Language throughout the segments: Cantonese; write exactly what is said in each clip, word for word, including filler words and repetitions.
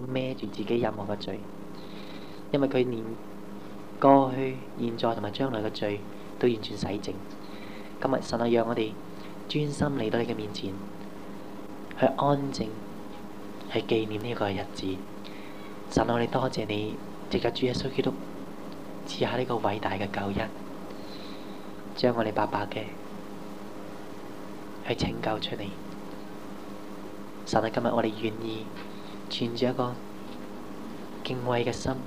孭住自己任何嘅罪，因為佢連過去、現在同埋將來嘅罪都完全洗淨。今日神啊，讓我哋專心嚟到你嘅面前，去安靜，去紀念呢個日子。神啊，我哋多謝你，藉着主耶穌基督賜下呢個偉大嘅救恩，將我哋白白嘅去拯救出嚟。神啊，今日我哋願意存住一個敬畏嘅心，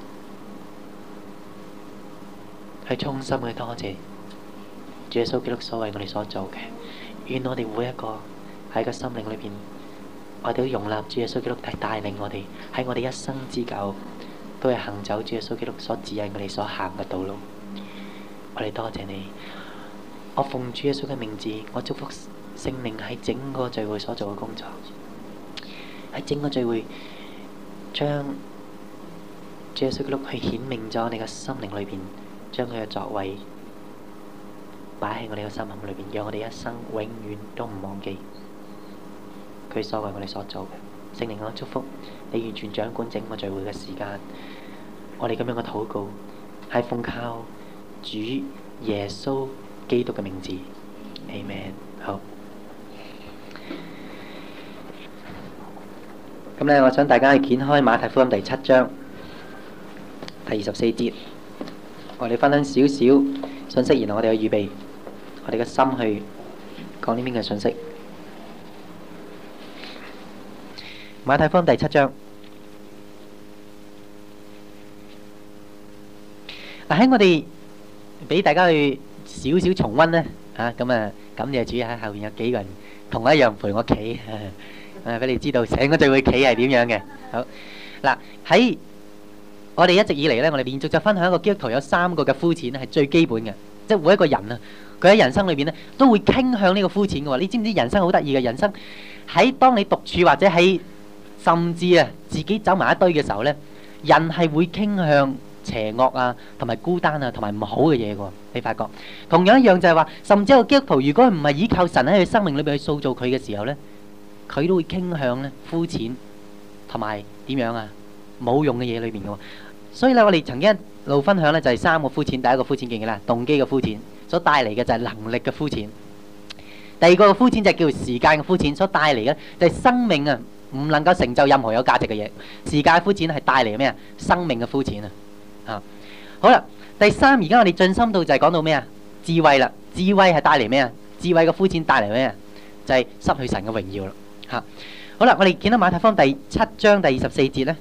去衷心去多謝主耶穌基督所為我哋所做嘅。願我哋每一個喺個心靈裏邊，我哋都容納主耶穌基督係帶領我哋喺我哋一生之久，都係行走主耶穌基督所指引我哋所行嘅道路。我哋多謝你，我奉主耶穌嘅名字，我祝福聖靈喺整個聚會所做嘅工作，喺整個聚會將主耶穌基督去顯明咗你嘅心靈裏邊，將佢嘅作為擺喺我哋嘅心坎裏邊，讓我哋一生永遠都唔忘記佢所為我哋所做嘅。聖靈，我祝福你完全掌管整個聚會嘅時間。我哋咁樣嘅禱告係奉靠主耶穌基督嘅名字，Amen。好，咁咧，我想大家去掀開馬太福音第七章第二十四節，我哋分享少少信息，然後我哋去預備我哋嘅心去講呢邊嘅信息。馬太福音第七章，嗱，喺我哋俾大家去少少重溫咧，嚇咁啊，感謝主喺後邊有幾個人同我一樣陪我企，誒俾你知道成個聚會企係點樣嘅。好嗱，喺我哋一直以嚟咧，我哋連續就分享一個基督徒有三個嘅膚淺咧，係最基本嘅，即係每一個人啊，佢喺人生裏邊咧都會傾向呢個膚淺嘅喎。你知唔知人生好得意嘅？人生喺當你獨處或者喺甚至啊自己走埋一堆嘅時候咧，人係會傾向邪惡啊，同埋孤單啊，同埋唔好嘅嘢嘅。你發覺同樣一樣就係話，甚至一個基督徒如果唔係依靠神喺佢生命裏邊去塑造佢嘅時候咧，佢都會傾向咧膚淺同埋點樣啊冇用嘅嘢裏邊嘅。所以咧，我哋曾經一路分享咧就係三個膚淺。第一個膚淺記唔記得啦？動機嘅膚淺所帶嚟嘅就係能力嘅膚淺。第二個膚淺就係叫做時間嘅膚淺，所帶嚟嘅就係生命啊唔能夠成就任何有價值嘅嘢。時間嘅膚淺係帶嚟咩啊？生命嘅膚淺啊！啊，好啦，第三，而家我哋進深度就係講到咩啊？智慧啦，智慧係帶嚟咩啊？智慧嘅膚淺帶嚟咩啊？就係失去神嘅榮耀啦。嚇，好啦，我哋見到馬太福音第七章第二十四節咧，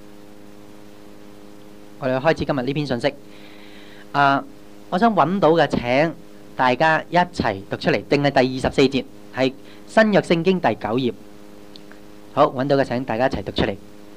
我哋開始今日呢篇信息。啊，我想揾到嘅請大家一齊讀出嚟，定係第二十四節，係新約聖經第九頁。好，揾到嘅請大家一齊讀出嚟。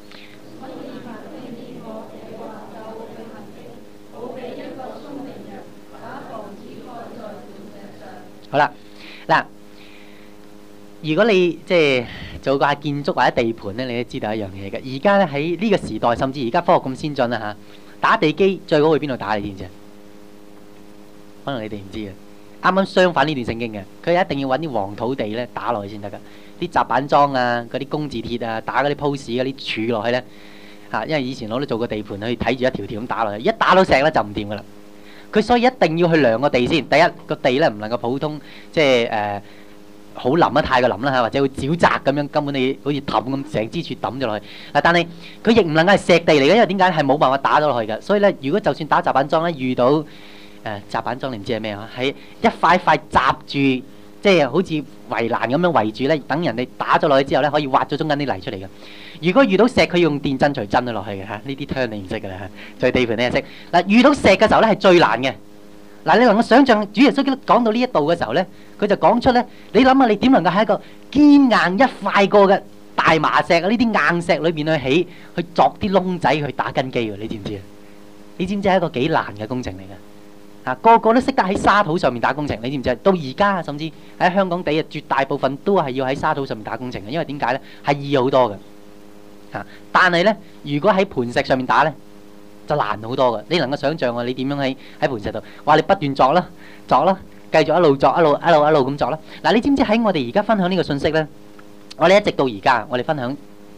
好啦，嗱，如果你即係做過建築或者地盤咧，你都知道一樣嘢嘅。而家咧喺呢個時代，甚至而家科學咁先進啦嚇，打地基最好去邊度打？你知唔知啊？可能你哋唔知嘅。啱啱相反呢段聖經嘅，佢一定要揾啲黃土地咧打落去先得㗎。啲雜板樁啊，嗰啲工字鐵啊，打嗰啲 post 嗰啲柱落去咧嚇，因為以前我都做過地盤，去睇住一條條咁打落去，一打到石咧就唔掂㗎啦。佢所以一定要去量個地先。第一個地咧唔能夠普通，即係誒好腍啊，太過腍啦嚇，或者會沼澤咁樣，根本你好似氹咁成支柱抌咗落去。嗱，但係佢亦唔能夠係石地嚟嘅，因為點解係冇辦法打到落去嘅。所以咧，如果就算打雜板樁咧，遇到誒雜板樁，你唔知係咩啊？係一塊一塊閘住，即係好似圍欄咁樣圍住咧，等人哋打咗落去之後咧，可以挖咗中間啲泥出嚟嘅。如果遇到石，佢用電震錘震咗落去嘅嚇，呢啲 turn 你唔識㗎啦嚇，在地盤你係識。嗱，遇到石嘅時候咧係最難嘅。嗱，你能夠想象主耶穌基督講到呢一度嘅時候咧，佢就講出咧，你諗下你點能夠喺一個堅硬一塊過嘅大麻石啊，呢啲硬石裏邊去起，去鑿啲窿仔去打根基喎？你知唔知啊？你知唔知係一個幾難嘅工程嚟㗎？啊，個個都識得喺沙土上面打工程，你知唔知啊？到而家甚至喺香港地啊，絕大部分都係要喺沙土上面打工程嘅，因為點解咧？係易好多嘅。嚇！但係咧，如果喺盤石上面打咧，就難好多嘅。你能夠想象啊？你點樣喺喺盤石度？話你不斷鑿啦，鑿啦，繼續一路鑿，一路一路一路咁鑿啦。嗱，你知唔知喺我哋而家分享呢個信息咧？我哋一直到而家，我哋分享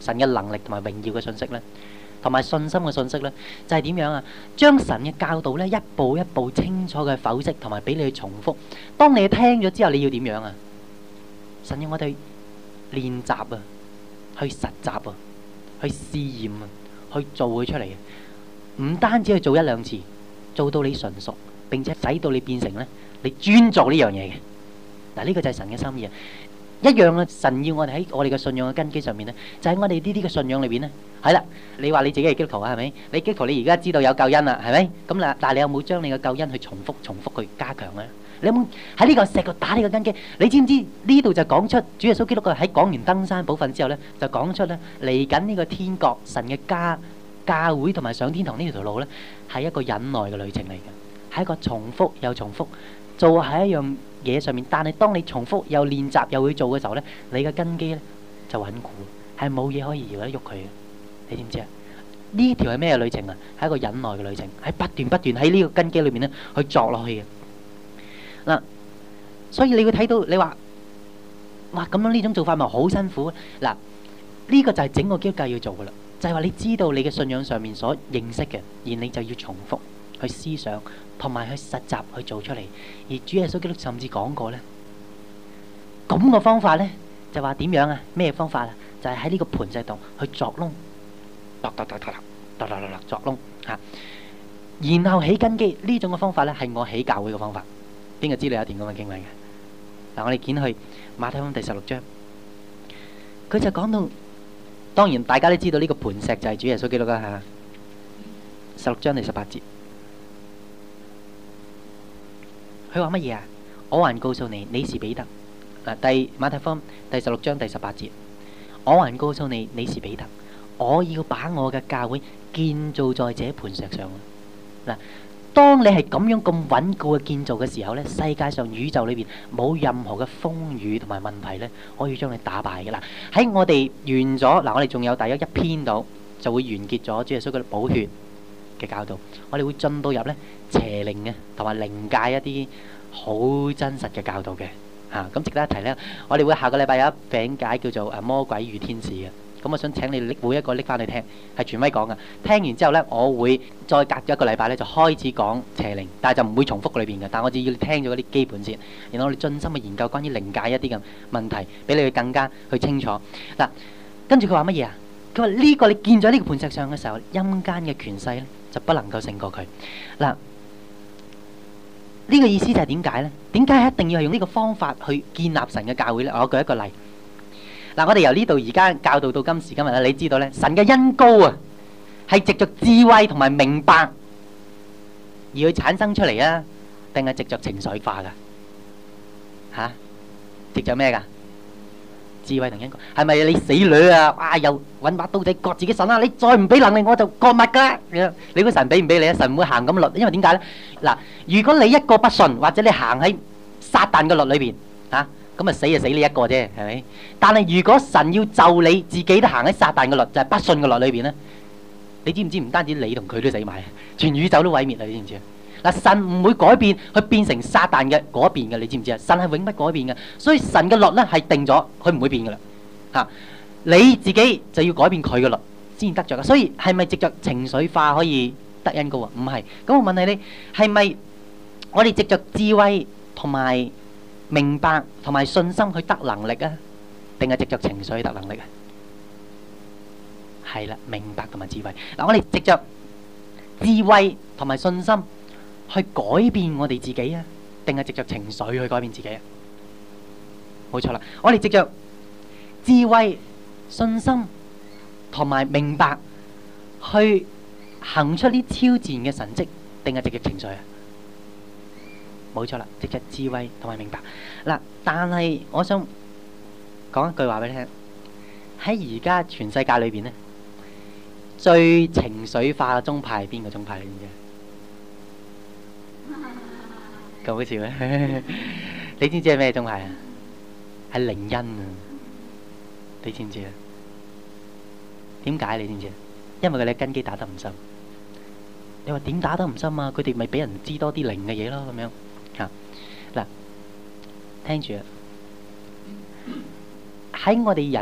神嘅能力同埋榮耀嘅信息咧，同埋信心嘅信息咧，就係點樣啊？將神嘅教導咧，一步一步清楚嘅剖析，同埋俾你去重複。當你聽咗之後，你要點樣啊？神要我哋練習啊，去實習啊，去試驗啊，去做佢出嚟嘅。唔單止去做一兩次，做到你純熟，並且使到你變成咧，你專做呢樣嘢嘅。嗱，呢個就係神嘅心意啊！一樣啊，神要我哋喺我哋嘅信仰嘅根基上面咧，就喺我哋呢啲嘅信仰裏邊咧，係啦。你話你自己係基督徒啊，係咪？你基督徒你而家知道有救恩啦，係咪？咁嗱，但係你有冇將你嘅救恩去重複、重複去加強咧？你有冇喺呢個石度打呢個根基？你知唔知呢度就講出主耶穌基督嘅喺講完登山寶訓之後咧，就講出咧嚟緊呢個天國神嘅家教會同埋上天堂呢條路咧，係一個忍耐嘅旅程嚟嘅，係一個重複又重複做喺一樣嘢上面。但係當你重複又練習又會做嘅時候咧，你嘅根基咧就穩固，係冇嘢可以搖得喐佢嘅。你知唔知啊？呢條係咩旅程啊？係一個忍耐嘅旅程，係不斷不斷喺呢個根基裏面咧去作落去嘅。嗱，所以你會睇到你話，哇咁樣呢種做法咪好辛苦？嗱，呢個就係整個基督教要做噶啦，就係話你知道你嘅信仰上面所認識嘅，而你就要重複去思想，同埋去實習去做出嚟。而主耶穌基督甚至講過咧，咁個方法咧就話點樣啊？咩方法啊？就係喺呢個磐石度去鑿窿，鑿鑿鑿鑿鑿鑿鑿鑿鑿窿嚇，然後起根基。呢種嘅方法咧係我起教會嘅方法。邊個知道有一段咁嘅經文嘅？嗱，我哋見去馬太福音第十六章，佢就講到，當然大家都知道呢個磐石就係主耶穌基督啦嚇。十六章第十八節，佢話乜嘢啊？我還告訴你，你是彼得。嗱，第馬太福音第十六章第十八節，我還告訴你，你是彼得，我要把我嘅教會建造在這磐石上。嗱。當你係咁樣咁穩固嘅建造嘅時候咧，世界上宇宙裏邊冇任何嘅風雨同埋問題咧，可以將你打敗嘅啦。喺我哋完咗嗱，我哋仲有大約一篇度就會完結咗主耶穌嘅寶血嘅教導。我哋會進到入咧邪靈嘅同埋靈界一啲好真實嘅教導嘅嚇。咁值得一提咧，我哋會下個禮拜有一餅解叫做誒魔鬼與天使嘅。咁我想請你拎每一個拎翻去聽，係權威講嘅。聽完之後咧，我會再隔咗一個禮拜咧，就開始講邪靈，但係就唔會重複裏邊嘅。但係我只要你聽咗嗰啲基本先，然後我哋盡心去研究關於靈界一啲嘅問題，俾你去更加去清楚。嗱，跟住佢話乜嘢啊？佢話呢個你建咗呢個磐石上嘅時候，陰間嘅權勢咧就不能夠勝過佢。嗱，呢個意思就係點解咧？點解一定要係用呢個方法去建立神嘅教會咧？我舉一個例。嗱，我哋由呢度而家教導到今時今日咧，你知道咧，神嘅恩膏啊，係藉着智慧同埋明白而去產生出嚟啊，定係藉着情緒化噶？吓，藉着咩噶？智慧同恩膏，係咪你死女啊？哇，又搵把刀仔割自己腎啦！你再唔俾能力，我就割脈噶！你估神俾唔俾你啊？神唔會行咁律，因為點解咧？嗱，如果你一個不信，或者你行喺撒旦嘅律裏邊，吓。咁啊死就死你一個啫，係咪？但係如果神要就你自己都行喺撒旦嘅律，就係不信嘅律裏邊咧，你知唔知唔單止你同佢都死埋，全宇宙都毀滅啦！你知唔知啊？嗱，神唔會改變去變成撒旦嘅嗰一邊嘅，你知唔知啊？神係永不改變嘅，所以神嘅律咧係定咗，佢唔會變噶啦。嚇，你自己就要改變佢嘅律先得著嘅。所以係咪藉著情緒化可以得恩膏啊？唔係。咁我問你，你係咪我哋藉著智慧同埋明白同埋信心去得能力啊，定係藉着情緒去得能力啊？係啦，明白同埋智慧。嗱，我哋藉着智慧同埋信心去改變我哋自己啊，定係藉着情緒去改變自己啊？冇錯啦，我哋藉着智慧、信心同埋明白去行出啲超自然嘅神蹟，定係藉着情緒啊？冇錯啦，藉着智慧同埋明白嗱，但係我想講一句話俾你聽，喺而家全世界裏邊咧，最情緒化嘅宗派係邊個宗派嚟嘅？咁好笑咩？你知唔知係咩宗派啊？係靈恩啊！你知唔知啊？點解你知唔知啊？因為佢哋根基打得唔深。你話點打得唔深啊？佢哋咪俾人知多啲靈嘅嘢咯，咁樣。嚇嗱，聽住啊！喺我哋人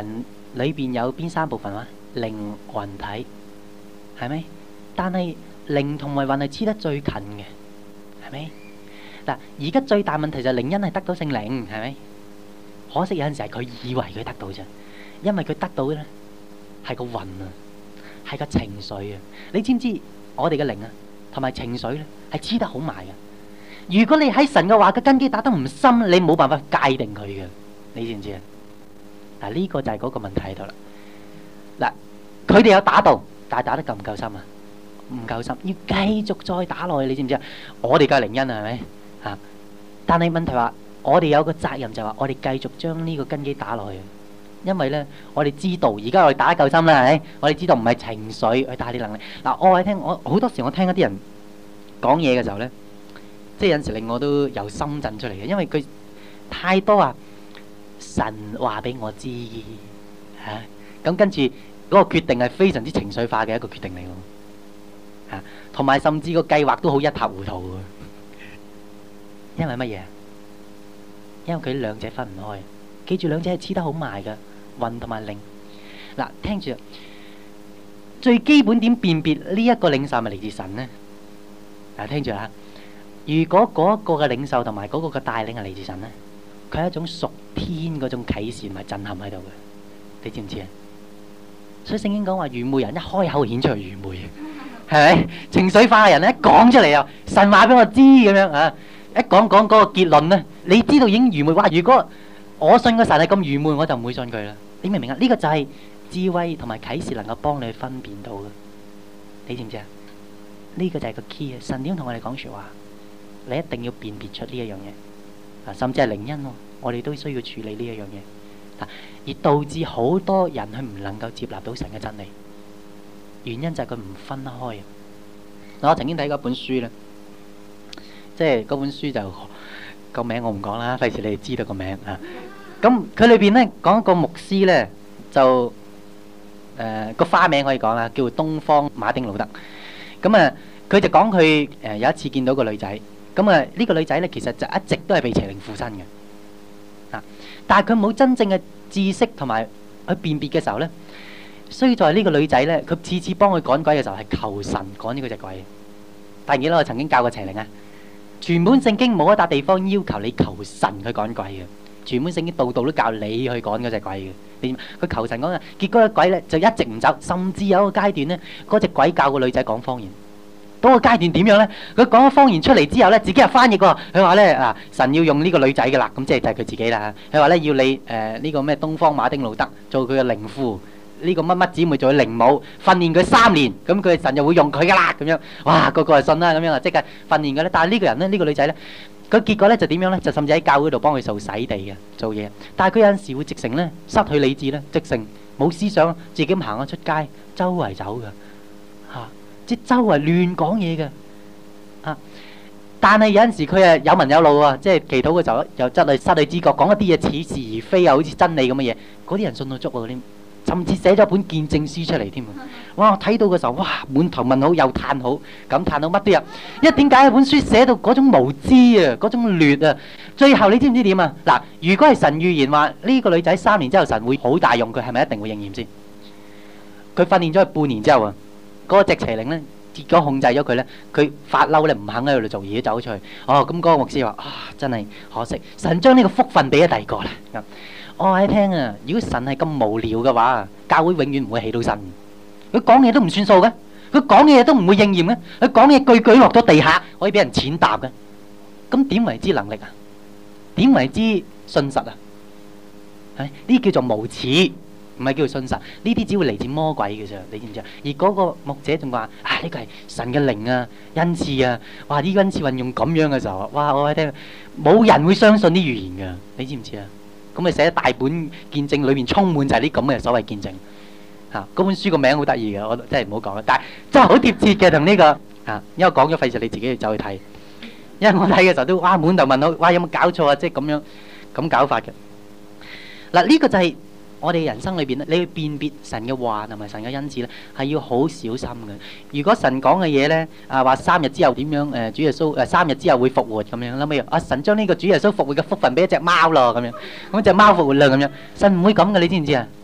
裏邊有邊三部分話？靈魂體，係咪？但係靈同埋魂係黐得最近嘅，係咪？嗱，而家最大問題就係靈恩係得到聖靈，係咪？可惜有陣時係佢以為佢得到啫，因為佢得到嘅咧係個魂啊，係個情緒啊。你知唔知我哋嘅靈啊同埋情緒咧係黐得好埋嘅？如果你喺神嘅話嘅根基打得唔深，你冇辦法界定佢嘅，你知唔知啊？嗱，呢個就係嗰個問題喺度啦。嗱，佢哋有打到，但係打得夠唔夠深啊？唔夠深，要繼續再打落去，你知唔知啊？我哋嘅靈恩啊，係咪啊？但係問題話，我哋有個責任就係話，我哋繼續將呢個根基打落去，因為咧，我哋知道而家我哋打得夠深啦，係咪？我哋知道唔係情緒去帶啲能力。嗱，我話你聽，我好多時我聽一啲人講嘢嘅時候咧，即係有陣時令我都由心震出嚟嘅，因為佢太多啊。神話俾我知嚇，咁、啊、跟住嗰個決定係非常之情緒化嘅一個決定嚟喎嚇，同、啊、埋甚至個計劃都好一塌糊塗嘅，因為乜嘢？因為佢兩者分唔開，記住兩者係黐得好埋嘅，魂同埋靈。嗱、啊，聽住，最基本點辨別呢一個領袖係咪嚟自神呢？嗱、啊，聽住啦，如果嗰一個嘅領袖同埋嗰個嘅帶領係嚟自神呢？佢係一種屬天嗰種啟示同埋震撼喺度嘅，你知唔知啊？所以聖經講話愚昧人一開口顯出嚟愚昧，係咪？情緒化嘅人咧一講出嚟又神話俾我知咁樣啊！一講講嗰個結論咧，你知道已經愚昧。哇！如果我信個神係咁愚昧，我就唔會信佢啦。你明唔明啊？呢個就係智慧同埋啟示能夠幫你去分辨到嘅，你知唔知啊？呢個就係個 key 啊！神點同我哋講説話，你一定要辨別出呢一樣嘢。啊，甚至係靈恩喎，我哋都需要處理呢一樣嘢，啊，而導致好多人佢唔能夠接納到神嘅真理，原因就係佢唔分開。嗱，我曾經睇過一本書咧，即係嗰本書就個名我唔講啦，費事你哋知道個名啊。咁佢裏邊咧講一個牧師咧，就誒個花名可以講啦，叫做東方馬丁路德。咁啊，佢就講佢誒有一次見到個女仔。咁啊，呢個女仔咧，其實就一直都係被邪靈附身嘅，啊！但係佢冇真正嘅知識同埋去辨別嘅時候咧，所以在呢個女仔咧，佢次次幫佢趕鬼嘅時候係求神趕呢個隻鬼。但係記得我曾經教過邪靈啊，全本聖經冇一笪地方要求你求神去趕鬼嘅，全本聖經度度都教你去趕嗰隻鬼嘅。你佢求神趕啊，結果個鬼咧就一直唔走，甚至有一個階段咧，嗰隻鬼教個女仔講方言。到個階段點樣咧？佢講咗方言出嚟之後咧，自己又翻譯喎。佢話咧啊，神要用呢個女仔嘅啦，咁即係就係佢自己啦。佢話咧要你誒呢個咩東方馬丁路德做佢嘅靈父，呢個乜乜姊妹做佢靈母，訓練佢三年，咁佢神就會用佢噶啦咁樣。哇，個個係信啦咁樣啊，即刻訓練佢咧。但係呢個人咧，呢個女仔咧，佢結果咧就點樣咧？就甚至喺教會度幫佢做洗地嘅做嘢。但係佢有陣時會直情咧失去理智咧，直情冇思想，自己咁行咗出街，周圍走嘅嚇。即周圍亂講嘢嘅，啊！但係有陣時佢係有文有路啊，即係祈禱嘅時候又真係失去知覺，講一啲嘢似是而非啊，好似真理咁嘅嘢，嗰啲人信到足喎，啲甚至寫咗本見證書出嚟添。哇！我睇到嘅時候，哇！滿頭問號又嘆好，咁嘆到乜都有。因為點解一本書寫到嗰種無知啊，嗰種劣啊？最後你知唔知點啊？嗱，如果係神預言話呢個女仔三年之後神會好大用佢，係咪一定會應驗先？佢訓練咗佢半年之後啊！嗰個隻邪靈咧，結果控制咗佢咧，佢發嬲咧，唔肯喺度做嘢，走咗出去。哦，咁嗰個牧師話：啊，真係可惜，神將呢個福分俾咗第二個啦。咁我話你聽啊，如果神係咁無聊嘅話，教會永遠唔會起到身。佢講嘢都唔算數嘅，佢講嘢都唔會應驗嘅，佢講嘢句句落咗地下，可以俾人踐踏嘅。咁點為之能力啊？點為之信實啊？係呢叫做無恥。唔係叫做信神，呢啲只會嚟自魔鬼嘅啫，你知唔知啊？而嗰個牧者仲話：啊，呢個係神嘅靈啊，恩賜啊！哇，呢個恩賜運用咁樣嘅時候，哇！我喺聽，冇人會相信啲預言㗎，你知唔知啊？咁你寫大本見證，裏面充滿就係啲咁嘅所謂見證嚇。嗰本書個名好得意嘅，我真係唔好講啦。但係真係好貼切嘅同呢個嚇，因為講咗費事你自己去走去睇。因為我睇嘅時候都哇滿頭問號，哇有冇搞錯啊？即係咁樣咁搞法嘅。嗱，呢個就係。我哋人生裏邊咧，你去辨別神嘅話同埋神嘅恩賜咧，係要好小心嘅。如果神講嘅嘢咧，啊話三日之後點樣？誒主耶穌誒三日之後會復活咁樣，諗起啊神將呢個主耶穌復活嘅福分俾一隻貓咯咁樣，咁隻貓復活啦咁樣，神唔會咁嘅，你知唔知啊？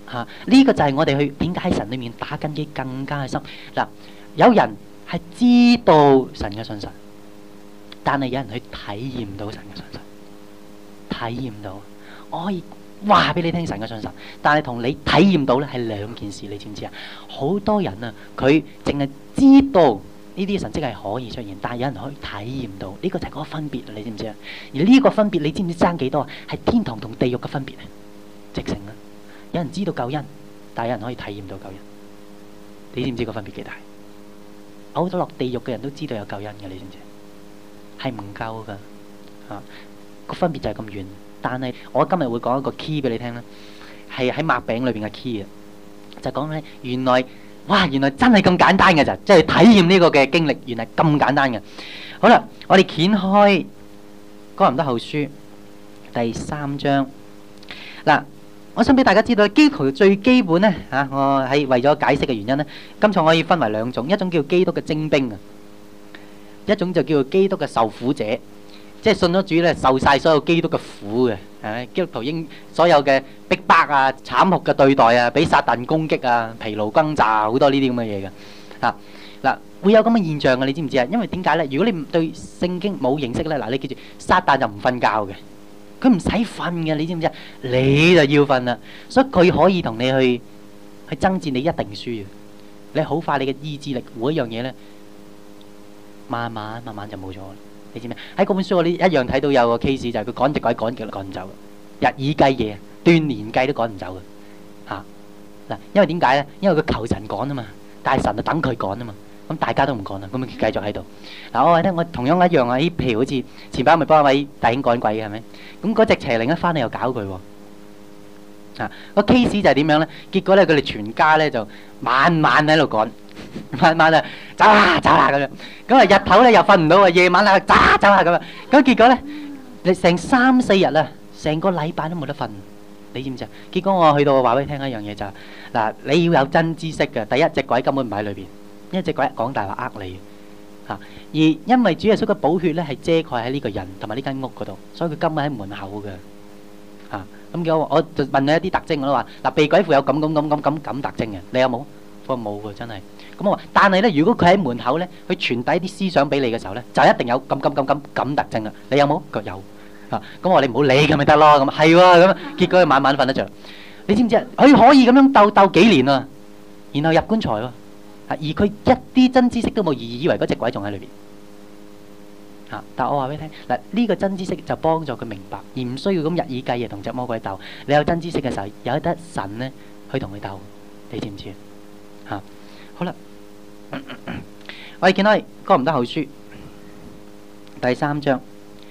嚇，呢個就係我哋去點解喺神裏面打根基更加深嗱。有人係知道神嘅信實，但係有人去體驗唔到神嘅信實，體驗唔到。我可以話俾你聽神嘅信實，但係同你體驗到咧係兩件事，你知唔知啊？好多人啊，佢淨係知道呢啲神蹟係可以出現，但係有人可以體驗到，呢個就係嗰個分別啊！你知唔知啊？而呢個分別你知唔知爭幾多啊？係天堂同地獄嘅分別啊！直情啊！有人知道救恩，但係有人可以體驗到救恩，你知唔知個分別幾大？嘔咗落地獄嘅人都知道有救恩嘅，你知唔知？係唔夠噶嚇，個分別就係咁遠。但係我今日會講一個 key 俾你聽啦，係喺麥餅裏邊嘅 key 啊，就講咧原來哇原來真係咁簡單嘅咋，即係體驗呢個嘅經歷，原來咁簡單嘅。好啦，我哋掀開哥林多後書第三章嗱。我想俾大家知道，基督徒最基本咧嚇，我係為咗解釋嘅原因咧，今次我可以分為兩種，一種叫基督嘅精兵啊，一種就叫做基督嘅受苦者，即係信咗主咧，受曬所有基督嘅苦嘅，係咪？基督徒應所有嘅逼迫啊、慘酷嘅對待啊、俾撒但攻擊啊、疲勞轟炸好多呢啲咁嘅嘢嘅嚇嗱，會有咁嘅現象嘅，你知唔知啊？因為點解咧？如果你對聖經冇認識咧，嗱，你記住，撒但就唔瞓覺嘅。佢唔使瞓嘅，你知唔知啊？你就要瞓啦，所以佢可以同你去去爭戰，你一定輸嘅。你好快，你嘅意志力每一樣嘢咧，慢慢慢慢就冇咗。你知唔知？喺嗰本書我呢一樣睇到有個 case 就係佢趕隻鬼趕極都趕唔走，日以繼夜、斷年計都趕唔走嘅嚇嗱。因為點解咧？因為佢求神趕啊嘛，但係神就等佢趕啊嘛。咁大家都唔趕啦，咁咪繼續喺度嗱。我話咧，我同樣一樣啊。咦，譬如好似前排咪幫一位弟兄趕鬼嘅係咪？咁嗰隻邪靈一翻嚟又搞佢喎啊！個 case 就係點樣咧？結果咧，佢哋全家咧就晚晚喺度趕，晚晚啊走啦走啦咁樣。咁啊日頭咧又瞓唔到啊，夜晚啊走啦走啦咁啊。咁結果咧，你成三四日啊，成個禮拜都冇得瞓。你知唔知啊？結果我去到話俾你聽一樣嘢就係嗱，你要有真知識嘅。第一隻鬼根本唔喺裏邊。因為隻鬼講大話呃你嚇，而因為主耶穌嘅寶血咧係遮蓋喺呢個人同埋呢間屋嗰度，所以佢根本喺門口嘅嚇。咁叫我我就問你一啲特徵，我都話嗱，被鬼附有咁咁咁咁咁咁特徵嘅，你有冇？我話冇喎，真係。咁我話，但係咧，如果佢喺門口咧，佢傳遞啲思想俾你嘅時候咧，就一定有咁咁咁咁咁特徵啦。你有冇？佢有嚇。咁我話你唔好理佢咪得咯。咁係喎，咁結果佢晚晚瞓得著。你知唔知啊？佢可以咁樣鬥鬥幾年啊，然後入棺材喎。而佢一啲真知識都冇，而以為嗰隻鬼仲喺裏邊嚇。但係我話俾你聽嗱，呢個真知識就幫助佢明白，而唔需要咁日以繼夜同隻魔鬼鬥。你有真知識嘅時候，有得神咧去同佢鬥，你知唔知啊？嚇，好啦，我哋見到哥林多後書第三章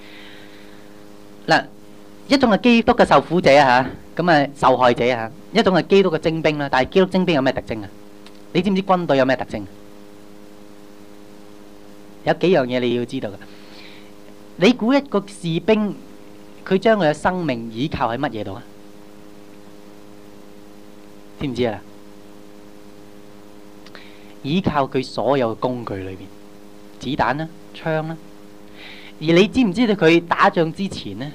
嗱，一種係基督嘅受苦者嚇，咁啊受害者嚇；一種係基督嘅精兵啦。但係基督精兵有咩特徵啊？你知唔知軍隊有咩特徵？有幾樣嘢你要知道嘅。你估一個士兵佢將佢嘅生命倚靠喺乜嘢度啊？知唔知啊？倚靠佢所有嘅工具裏邊，子彈啦、槍啦。而你知唔知道佢打仗之前呢，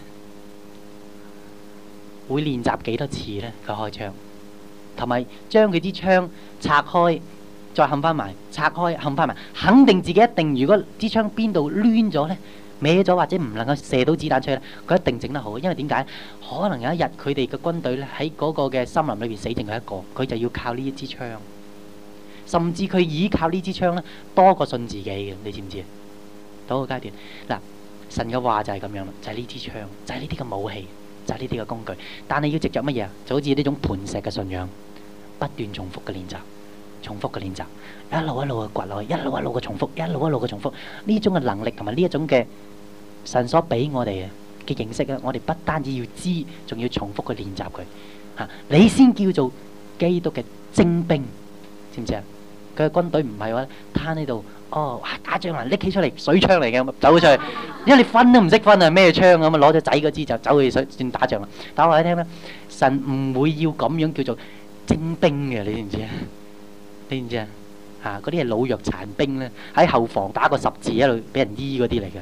會練習幾多次呢？佢開槍。同埋將佢支槍拆開，再冚翻埋，拆開冚翻埋，肯定自己一定。如果支槍邊度攣咗咧、歪咗或者唔能夠射到子彈出去咧，佢一定整得好。因為點解？可能有一日佢哋嘅軍隊咧喺嗰個嘅森林裏邊死剩佢一個，佢就要靠呢一支槍，甚至佢依靠呢支槍咧多過信自己嘅。你知唔知啊？到個階段嗱，神嘅話就係咁樣啦，就係呢支槍，就係呢啲嘅武器，就係呢啲嘅工具。但係要藉著乜嘢啊？就好似呢種磐石嘅信仰。不斷重複嘅練習，重複嘅練習，一路一路嘅掘落去，一路一路嘅重複，一路一路嘅重複。呢種嘅能力同埋呢一種嘅神所俾我哋嘅認識咧，我哋不單止要知，仲要重複去練習佢嚇，你先叫做基督嘅精兵，知唔知啊？佢嘅軍隊唔係話攤喺度，哦，哇打仗啊，拎起出嚟水槍嚟嘅，走咗出去，因為你分都唔識分啊，咩槍咁啊，攞咗仔嗰支就走去水算打仗啦。但我話你聽咧，神唔會要咁樣叫做精兵嘅，你知唔知啊？你知唔知啊？嚇，嗰啲係老弱殘兵咧，喺後防打個十字一路俾人醫嗰啲嚟嘅，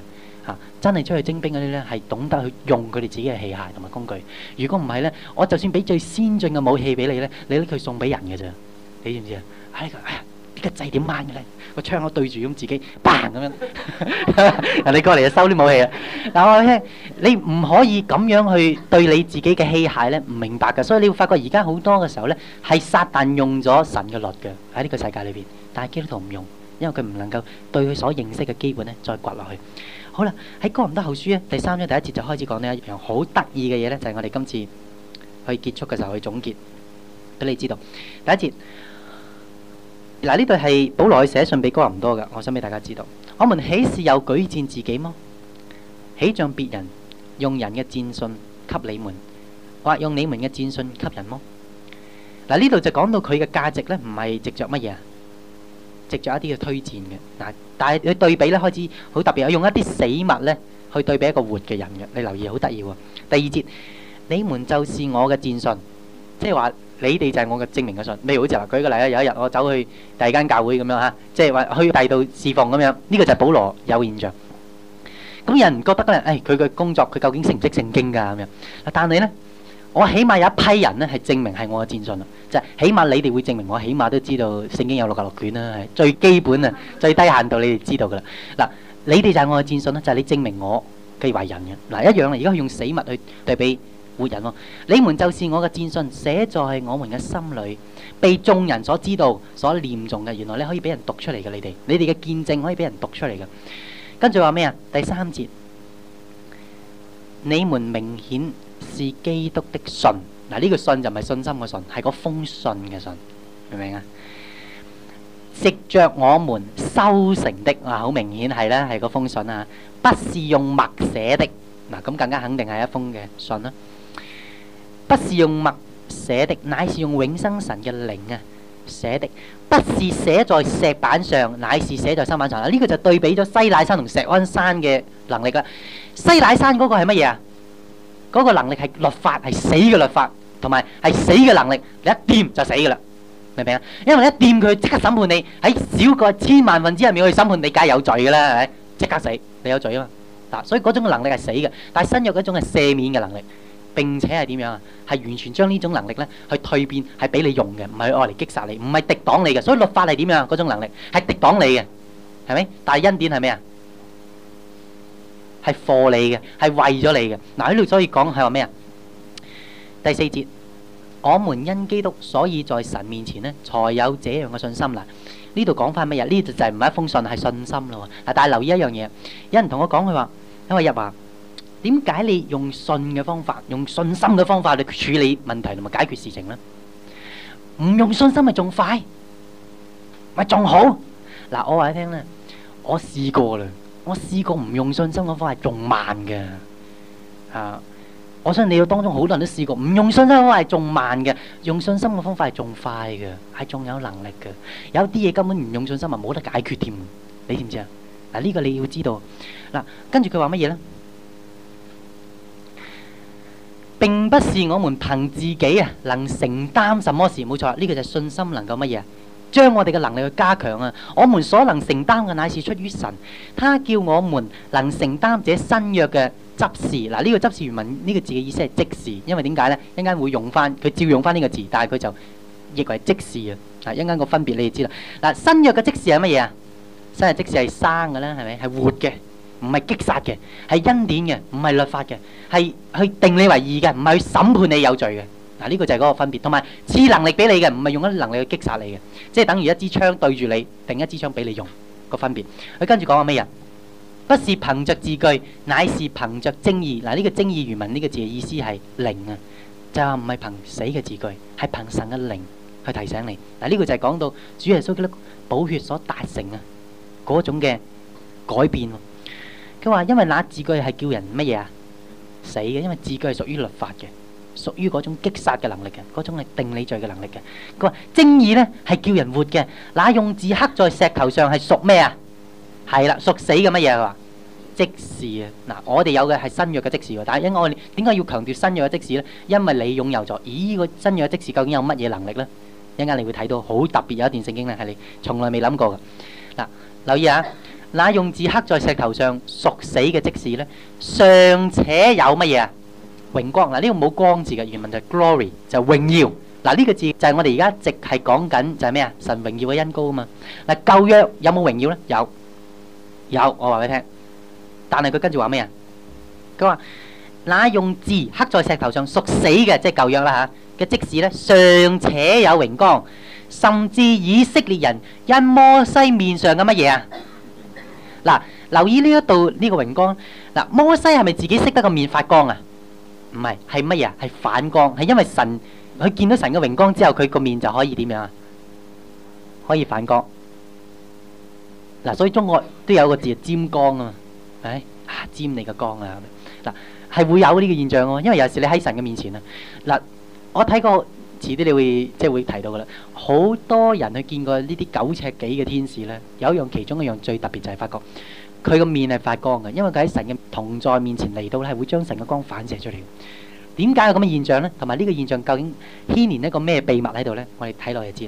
嚇，真係出去徵兵嗰啲咧係懂得去用佢哋自己嘅器械同埋工具。如果唔係咧，我就算俾最先進嘅武器俾你咧，你拎佢送俾人嘅啫。你知唔知啊？哎呀，呢個掣點掹嘅咧？個槍口對住咁自己嘭咁樣，人哋過嚟就收啲武器啦。嗱，我聽你唔可以咁樣去對你自己嘅器械咧，唔明白嘅。所以你會發覺而家好多嘅時候咧，係撒但用咗神嘅律嘅喺呢個世界裏邊，但係基督徒唔用，因為佢唔能夠對佢所認識嘅基本咧再掘落去。好啦，喺哥林多後書咧第三章第一節就開始講呢一樣好得意嘅嘢咧，就係我哋今次去結束嘅時候去總結俾你知道。第一節。嗱，呢度係保羅去寫信俾哥林多嘅，我想俾大家知道。我們豈是有舉薦自己麼？豈像別人用人嘅薦信給你們，或用你們嘅薦信給人麼？嗱，呢度就講到佢嘅價值咧，唔係藉着乜嘢啊？藉着一啲嘅推薦嘅。嗱，但係佢對比咧開始好特別，用一啲死物咧去對比一個活嘅人嘅。你留意好得意喎。第二節，你們就是我嘅薦信，即係話。你哋就係我嘅證明嘅信，譬如好似話舉個例啦，有一日我走去第二間教會咁樣嚇，即係話去第二度侍奉咁樣，呢個就係保羅有現象。咁有人覺得咧，誒佢嘅工作佢究竟識唔識聖經㗎咁樣？但係咧，我起碼有一批人咧係證明係我嘅薦信啦，就係起碼你哋會證明我起碼都知道聖經有六十六卷啦，係最基本啊，最低限度你哋知道㗎啦。嗱，你哋就係我嘅薦信啦，就係你證明我嘅為人嘅。嗱，一樣啦，而家用死物去對比活人喎，你們就是我嘅薦信，寫在我們嘅心裏，被眾人所知道、所念誦嘅。原來你可以俾人讀出嚟嘅，你哋，你哋嘅見證可以俾人讀出嚟嘅。跟住話咩啊？第三節，你們明顯是基督的信。嗱，呢個信就唔係信心嘅信，係嗰封信嘅信，明唔明啊？藉着我們修成的，啊，好明顯係啦，係嗰封信啊，不是用墨寫的。嗱，咁更加肯定係一封嘅信啦。不是用墨寫的，乃是用永生神嘅靈啊寫的。不是寫在石板上，乃是寫在心板上。嗱，呢個就對比咗西乃山同錫安山嘅能力啦。西乃山嗰個係乜嘢啊？嗰個能力係律法，係死嘅律法，同埋係死嘅能力。你一掂就死噶啦，明唔明啊？因為你一掂佢即刻審判你，喺少過千萬分之一秒去審判你，梗係有罪噶啦，係咪？即刻死，你有罪啊嘛。嗱，所以嗰種嘅能力係死嘅，但係新約嗰種係赦免嘅能力。並且係點樣啊？係完全將呢種能力咧去蛻變，係俾你用嘅，唔係愛嚟擊殺你，唔係敵擋你嘅。所以律法係點樣啊？嗰種能力係敵擋你嘅，係咪？但係恩典係咩啊？係for你嘅，係為咗你嘅。嗱，喺度所以講係話咩啊？第四節，我們因基督，所以在神面前咧，才有這樣嘅信心啦。呢度講翻乜嘢？呢度就係唔係一封信，係信心咯。嗱，但係留意一樣嘢，有人同我講佢話，因為入話。點解你用信嘅方法，用信心嘅方法去處理問題同埋解決事情呢？唔用信心咪仲快，咪仲好？嗱，我話你聽咧，我試過啦，我試過唔用信心嘅方法係仲慢嘅。啊，我相信你要當中好多人都試過，唔用信心嘅方法係仲慢嘅，用信心嘅方法係仲快嘅，係仲有能力嘅。有啲嘢根本唔用信心係冇得解決添，你知唔知啊？嗱，呢個你要知道。嗱，跟住佢話乜嘢咧？並不是我們憑自己啊，能承擔什麼事，冇錯，呢個就係信心能夠乜嘢啊？將我哋嘅能力去加強啊！我們所能承擔嘅乃是出於神，他叫我們能承擔這新約嘅執事。嗱，呢個執事原文呢個字嘅意思係即時，因為點解咧？一陣間會用翻，佢照用翻呢個字，但係佢就譯為即時啊！嗱，一陣間個分別你哋知啦。嗱，新約嘅即時係乜嘢啊？新約即時係生嘅啦，係咪？係活嘅。唔係擊殺嘅，係恩典嘅，唔係律法嘅，係去定你為義嘅，唔係去審判你有罪嘅。嗱，呢個就係嗰個分別，同埋賜能力俾你嘅，唔係用一啲能力去擊殺你嘅，即係等於一支槍對住你，定一支槍俾你用個分別。佢跟住講話咩啊？不是憑着字句，乃是憑着正義。嗱，呢個正義原文呢個字嘅意思係靈啊，就係唔係憑死嘅字句，係憑神嘅靈去提醒你。嗱，呢個就係講到主耶穌基督寶血所達成啊嗰種嘅改變。佢話：因為那字句係叫人乜嘢啊？死嘅，因為字句係屬於律法嘅，屬於嗰種擊殺嘅能力嘅，嗰種係定你罪嘅能力嘅。佢話正義咧係叫人活嘅，那用字刻在石頭上係屬咩啊？係啦，屬死嘅乜嘢？佢話即時啊！嗱，我哋有嘅係新約嘅即時喎，但係因為我哋點解要強調新約嘅即時咧？因為你擁有咗，咦？呢個新約嘅即時究竟有乜嘢能力咧？一陣間你會睇到好特別有一段聖經咧係你從來未諗過嘅。嗱，留意下。 那用字刻在石頭上屬死嘅職事咧，尚且有乜嘢啊？榮光。嗱，呢個冇光字嘅，原文就係 glory， 就係榮耀。嗱，呢個字就係我哋而家直係講緊就係咩啊？神榮耀嘅恩膏啊嘛。嗱，舊約有冇榮耀咧？有，有，我話俾你聽。但係佢跟住話咩啊？佢話那用字刻在石頭上屬死嘅，即係舊約啦嚇嘅職事咧，尚且有榮光，甚至以色列人因摩西面上嘅乜嘢啊？嗱，留意呢一度呢個榮光。嗱，摩西係咪自己識得個面發光啊？唔係，係乜嘢啊？係反光，係因為神佢見到神嘅榮光之後，佢個面就可以點樣啊？可以反光。嗱，所以中國都有個字係沾光啊嘛，係咪啊？沾你個光啊！嗱，係會有呢個現象喎，因為有時你喺神嘅面前啊。嗱，我睇過。遲啲你會即係會提到噶啦，好多人去見過呢啲九尺幾嘅天使咧，有一樣其中一樣最特別就係發覺佢個面係發光嘅，因為佢喺神嘅同在面前嚟到咧，係會將神嘅光反射出嚟。點解有咁嘅現象咧？同埋呢個現象究竟牽連一個咩秘密喺度咧？我哋睇落就知啦。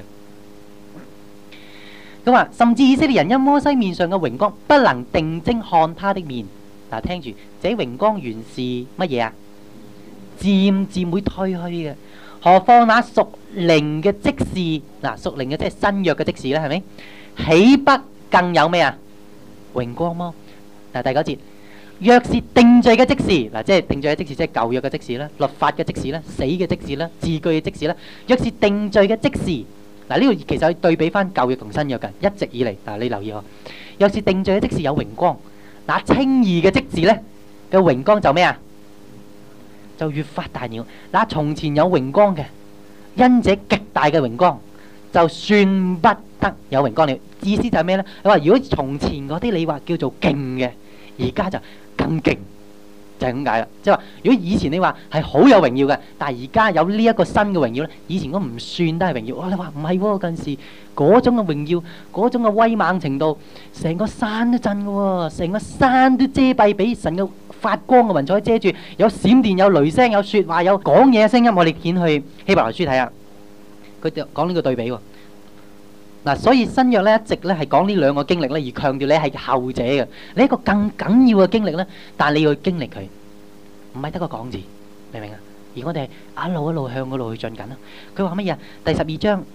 咁話，甚至以色列人因摩西面上嘅榮光，不能定睛看他的面。嗱，聽住，這榮光原是乜嘢啊？漸漸會退去嘅。何況那屬靈嘅職事，嗱，屬靈嘅即係新約嘅職事咧，係咪？豈不更有咩啊？榮光麼？嗱，第九節，若是定罪嘅職事，嗱，即係定罪嘅職事，即係舊約嘅職事啦，律法嘅職事啦，死嘅職事啦，字句嘅職事啦。若是定罪嘅職事，嗱，呢個其實可以對比翻舊約同新約嘅，一直以嚟，嗱，你留意喎。若是定罪嘅職事有榮光，嗱，稱義嘅職事咧嘅榮光就咩啊？就越發大了。那從前有榮光嘅，因這極大嘅榮光，就算不得有榮光了。意思就係咩呢？佢話如果從前嗰啲你話叫做勁嘅，而家就更勁，就係咁解啦。即係話如果以前你話係好有榮耀嘅，但係而家有呢一個新嘅榮耀呢，以前嗰唔算都係榮耀。哇！你話唔係喎，近時嗰種嘅榮耀，嗰種嘅威猛程度，成個山都震嘅喎，成個山都遮蔽俾神嘅發光嘅雲彩遮住，有閃電，有雷聲，有說話，有講嘢嘅聲音。我哋見去希伯來書睇下，佢就講呢個對比喎。嗱，所以新約咧一直咧係講呢兩個經歷咧，而強調你係後者嘅，你一個更緊要嘅經歷咧，但係你要去經歷佢，唔係得個講字，明唔明啊？而我哋係一路一路向嗰度去進緊啦。佢話乜嘢啊？第十二章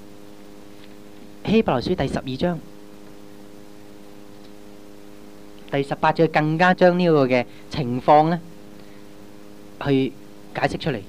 希伯來書第十二章。第十八節更加將呢個嘅情況咧，去解釋出嚟。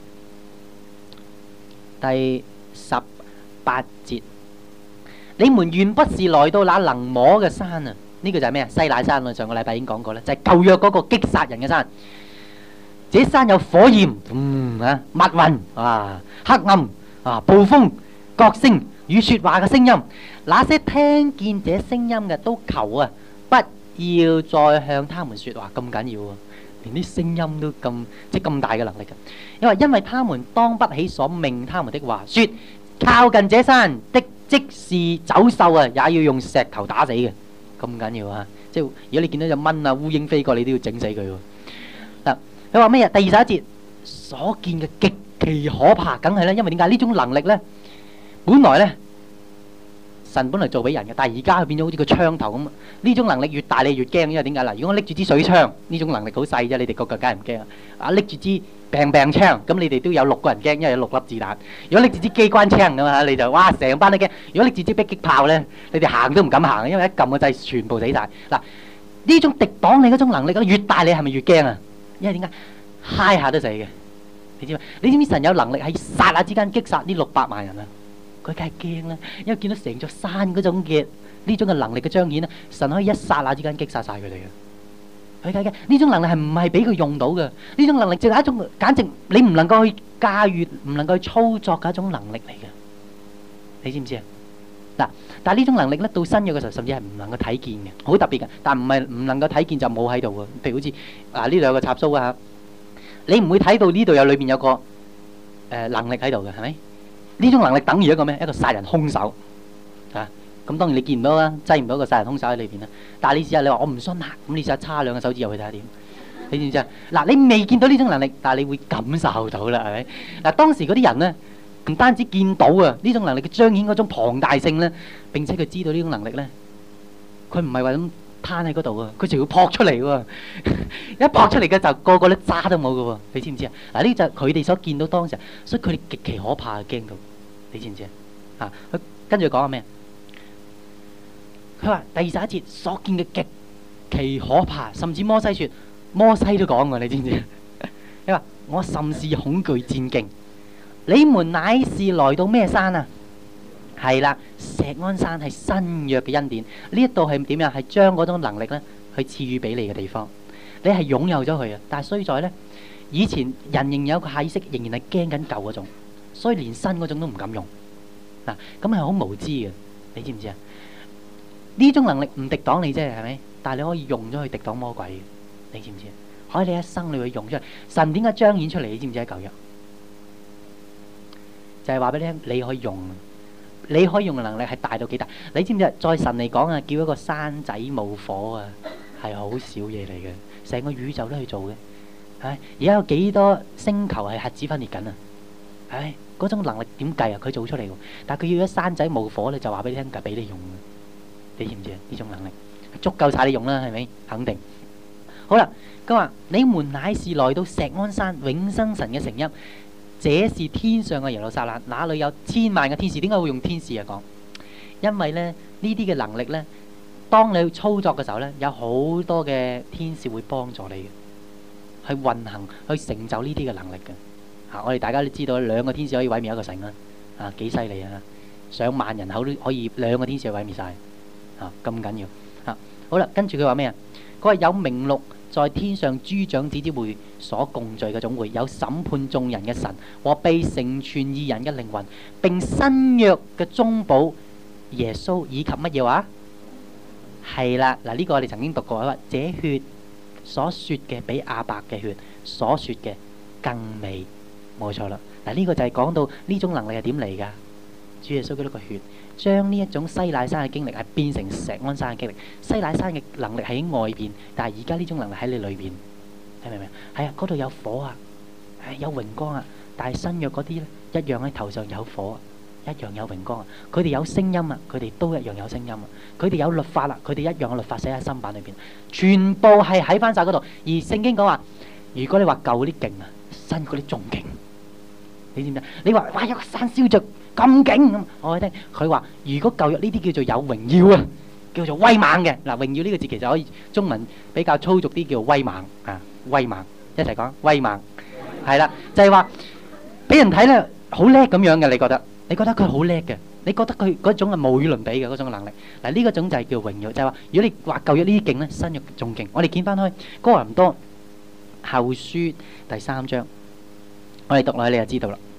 第十八節，你們原不是來到那能摸嘅山啊？呢個就係咩啊？西乃山啊！上個禮拜已經講過啦，就係舊約嗰個擊殺人嘅山。這山有火焰，嗯啊，密雲啊，黑暗啊，暴風、角聲與説話嘅聲音。那些聽見這聲音嘅都求啊，不要再向他們說話，咁緊要喎，連啲聲音都咁即係咁大嘅能力嘅。因為因為他們當不起所命他們的話，說靠近這山的即是走獸啊，也要用石頭打死嘅，咁緊要啊！即係如果你見到隻蚊啊、烏蠅飛過，你都要整死佢喎。嗱，佢話咩啊？第二十一節所見嘅極其可怕，梗係啦，因為點解呢種能力咧？本來咧。神本嚟做俾人嘅，但係而家佢變咗好似個槍頭咁。呢種能力越大，你越驚，因為點解嗱？如果我拎住支水槍，呢種能力好細啫，你哋個個梗係唔驚啊！啊，拎住支病病槍，咁你哋都有六個人驚，因為有六粒子彈。如果拎住支機關槍咁啊，你就哇成班都驚。如果拎住支迫擊炮咧，你哋行都唔敢行，因為一撳個掣，全部死晒。嗱，呢種敵擋你嗰種能力，越大你係咪越驚啊？因為點解嗨下都死嘅？你知嘛？你知唔知神有能力喺剎那之間擊殺呢六百萬人啊？佢梗係驚啦，因為見到成座山嗰種嘅呢種嘅能力嘅彰顯咧，神可以一剎那之間擊殺晒佢哋嘅。佢梗係驚呢種能力係唔係俾佢用到嘅？呢種能力就係一種簡直你唔能夠去駕馭、唔能夠去操作嘅一種能力嚟嘅。你知唔知啊？嗱，但係呢種能力咧，到新約嘅時候，甚至係唔能夠睇見嘅，好特別嘅。但唔係唔能夠睇見就冇喺度嘅。譬如好似啊呢度有個插蘇啊，你唔會睇到呢度有裏邊有個誒能力喺度嘅，係咪？呢種能力等於一個咩？一個殺人兇手啊！咁當然你見唔到啦，擠唔到一個殺人兇手喺裏邊啦。但係你試下，你話我唔信啊，咁你試下叉兩個手指入去睇下點？你知唔知啊？嗱，你未見到呢種能力，但係你會感受到啦，係咪？嗱，當時嗰啲人咧，唔單止見到啊，呢種能力嘅彰顯嗰種龐大性咧，並且佢知道呢種能力咧，佢唔係話咁攤喺嗰度啊，佢就要撲出嚟喎，一撲出嚟嘅就個個都渣都冇嘅喎，你知唔知啊？嗱，呢就係佢哋所見到當時，所以佢哋極其可怕，驚到，你知唔知啊？啊，佢跟住講下咩？佢話第二十一節所見嘅極其可怕，甚至摩西說，摩西都講喎，你知唔知？佢話我甚是恐懼戰兢，你們乃是來到咩山啊？係啦，錫安山係新約嘅恩典，呢一度係點樣？係將嗰種能力咧，去賜予俾你嘅地方，你係擁有咗佢啊！但係衰在咧，以前人仍然有個下意識，仍然係驚緊舊嗰種，所以連新嗰種都唔敢用。嗱，咁係好無知嘅，你知唔知啊？呢種能力唔敵擋你啫，係咪？但係你可以用咗去敵擋魔鬼嘅，你知唔知啊？可以你一生你會用出嚟，神點解彰顯出嚟？你知唔知喺舊約？就係話俾你聽，你可以用。你可以用嘅能力係大到幾大？你知唔知啊？在神嚟講啊，叫一個山仔冇火啊，係好少嘢嚟嘅。成個宇宙都去做嘅，係而家有幾多星球係核子分裂緊啊？係嗰種能力點計啊？佢做出嚟喎，但係佢要一山仔冇火咧，就話俾你聽，就俾你用嘅。你知唔知啊？呢種能力足夠曬你用啦，係咪？肯定。好啦，佢話你們乃是來到錫安山永生神嘅城邑。這是天上嘅耶路撒冷，那裏有千萬嘅天使。點解會用天使啊？講，因為咧呢啲嘅能力咧，當你去操作嘅時候咧，有好多嘅天使會幫助你嘅，去運行、去成就呢啲嘅能力嘅。啊，我哋大家都知道，兩個天使可以毀滅一個城啦，啊幾犀利啊！上萬人口都可以兩個天使毀滅晒，啊咁緊要。啊，好啦，跟住佢話咩啊？佢話有名錄在天上諸長子之會所共聚嘅總會，有審判眾人嘅神和被成全義人嘅靈魂，並新約嘅中保耶穌以及乜嘢話？係啦，嗱呢個我哋曾經讀過，話這血所說嘅比亞伯嘅血所說嘅更美，冇錯啦。嗱呢個就係講到呢種能力係點嚟噶？主耶穌嗰個血將呢一種西乃山嘅經歷係變成錫安山嘅經歷。西乃山嘅能力喺外邊，但係而家呢種能力喺你裏邊，你明唔明啊？係啊，嗰度有火啊，係有榮光啊。但係新約嗰啲咧，一樣喺頭上有火，一樣有榮光啊。佢哋有聲音啊，佢哋都一樣有聲音啊。佢哋有律法啦，佢哋一樣嘅律法寫喺心版裏邊，全部係喺翻晒嗰度。而聖經講話，如果你話舊嗰啲勁啊，新嗰啲仲勁，你知唔知？你話哇有個山燒着咁勁咁，我哋聽佢話，如果舊約呢啲叫做有榮耀啊，叫做威猛嘅。嗱，榮耀呢個字其實可以中文比較粗俗啲，叫威猛啊，威猛，一齊講威猛，係啦，就係話俾人睇咧好叻咁樣嘅。你覺得？你覺得佢好叻嘅？你覺得佢嗰種係無與倫比嘅嗰種能力？嗱，呢個種就係叫榮耀，就係話如果你話舊約呢啲勁咧，新約仲勁。我哋見翻開哥林多後書第三章，我哋讀落去你就知道啦。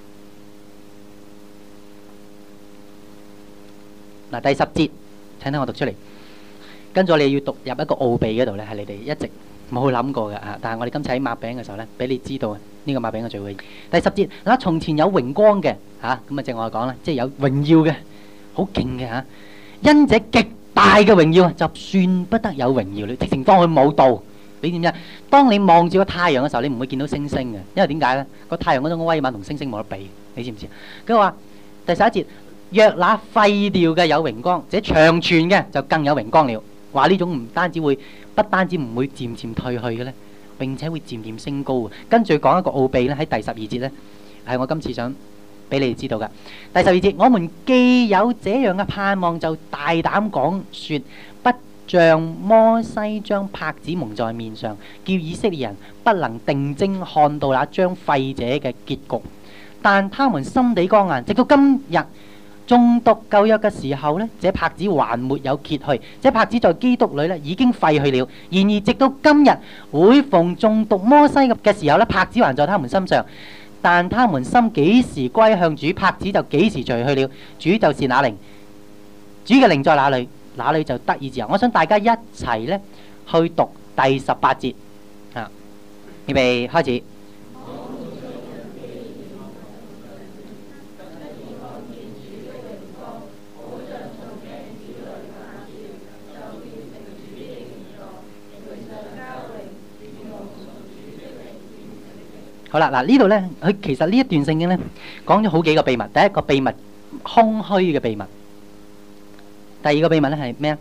嗱，第十節，請聽我讀出嚟。跟住我哋要讀入一個奧秘嗰度咧，係你哋一直冇諗過嘅啊！但係我哋今次喺擘餅嘅時候咧，俾你知道呢個擘餅嘅聚會。第十節，嗱，從前有榮光嘅嚇，咁啊正我講啦，即係有榮耀嘅，好勁嘅嚇。因這極大嘅榮耀，就算不得有榮耀，你直情當佢冇道。你點知？當你望住個太陽嘅時候，你唔會見到星星嘅，因為點解咧？個太陽嗰種威猛同星星冇得比，你知唔知？佢話第十一節。若那廢掉嘅有榮光，這長存嘅就更有榮光了。話呢種唔單止會，不單止唔會漸漸退去嘅咧，並且會漸漸升高。跟住講一個奧秘咧，喺第十二節咧，係我今次想俾你哋知道嘅。第十二節，我們既有這樣嘅盼望，就大膽講說，不像摩西將帕子蒙在面上，叫以色列人不能定睛看到那將廢者嘅結局。但他們心地剛硬，直到今日。誦讀舊約嘅時候呢，這帕子還沒有揭去，這帕子在基督裏呢已經廢去了。然而直到今日，每逢誦讀摩西嘅時候呢，帕子還在他們身上。但他們心幾時歸向主，帕子就幾時除去了。主就是那靈，主嘅靈在哪裏，哪裏就得以自由。我想大家一齊呢去讀第十八節啊，預備開始。好啦，嗱呢度咧，佢其實呢一段聖經咧講咗好幾個秘密。第一個秘密，空虛嘅秘密；第二個秘密咧係咩啊？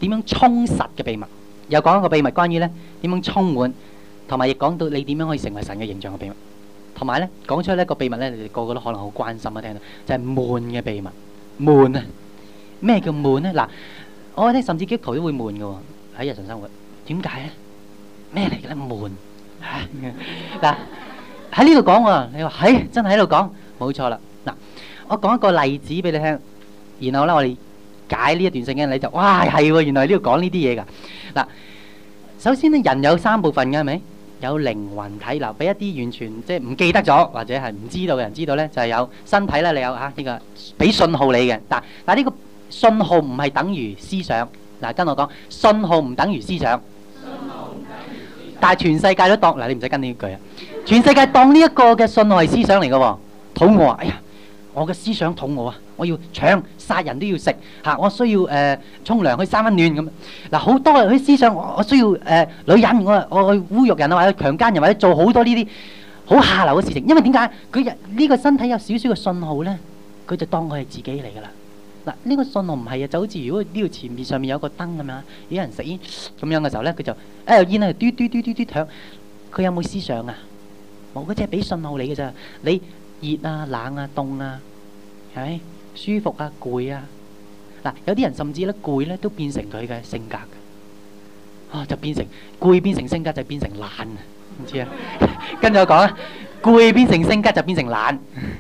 點樣充實嘅秘密，又講一個秘密關於咧點樣充滿，同埋亦講到你點樣可以成為神嘅形象嘅秘密，同埋咧講出呢一個秘密咧，你哋個個都可能好關心啊，聽到就係悶嘅秘密。悶啊！咩叫悶咧？嗱，我聽甚至基督徒都會悶嘅喎，喺日常生活。點解咧？咩嚟嘅咧？悶嚇嗱，喺呢度講喎，你話係真係喺度講，冇錯啦。嗱，我講一個例子俾你聽，然後咧我哋解呢一段聖經，你就哇係喎，原來呢度講呢啲嘢㗎。嗱，首先咧人有三部分嘅係咪？有靈魂體，嗱，俾一啲完全即係唔記得咗或者係唔知道嘅人知道咧，就係有身體啦，你有嚇呢個俾信號你嘅。但但呢個信號唔係等於思想。嗱，跟我講，信號唔等於思想。但係全世界都當嗱，你唔使跟呢句啊！全世界當呢一個嘅信號係思想嚟嘅喎，肚餓啊！哎呀，我嘅思想肚餓啊！我要搶殺人都要食嚇，我需要誒沖涼去三溫暖咁。嗱，好多嗰啲思想，我我需要誒女人，我我去侮辱人啊，或者強姦人，或者做好多呢啲好下流嘅事情。因為點解佢呢個身體有少少嘅信號咧，佢就當佢係自己嚟㗎啦。嗱，呢個信號唔係啊，就好似如果呢度前面上面有個燈咁樣，有人食煙咁樣嘅時候咧，佢就誒煙喺度嘟嘟嘟嘟嘟響，佢有冇思想啊？冇，嗰隻係俾信號你嘅咋。你熱啊、冷啊、凍啊，係咪？舒服啊，攰啊，嗱，有啲人甚至咧攰咧都變成佢嘅性格嘅，啊就變成攰變成性格就變成懶啊，唔知啊，跟住我講啊，攰變成性格就變成懶，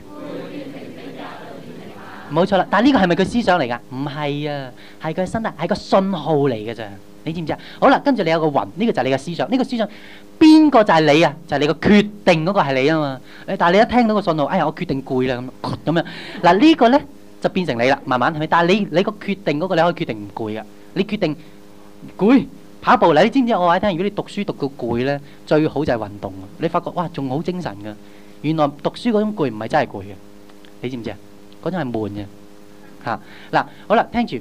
冇錯啦。但係呢個係咪佢思想嚟㗎？唔係啊，係佢身體係個信號嚟嘅咋，你知唔知啊？好啦，跟住你有個魂，呢個就係你嘅思想，呢個思想邊個就係你啊？就係你個決定嗰個係你啊嘛。誒，但係你一聽到個信號，哎呀，我決定攰啦咁咁樣，嗱呢個咧。就變成你啦，慢慢係咪？但係你你個決定嗰個你可以決定唔攰噶。你決定攰跑步啦，你知唔知？我話你聽，如果你讀書讀到攰咧，最好就係運動。你發覺哇，仲好精神噶。原來讀書嗰種攰唔係真係攰嘅，你知唔知啊？嗰種係悶嘅嚇。嗱，好啦，聽住，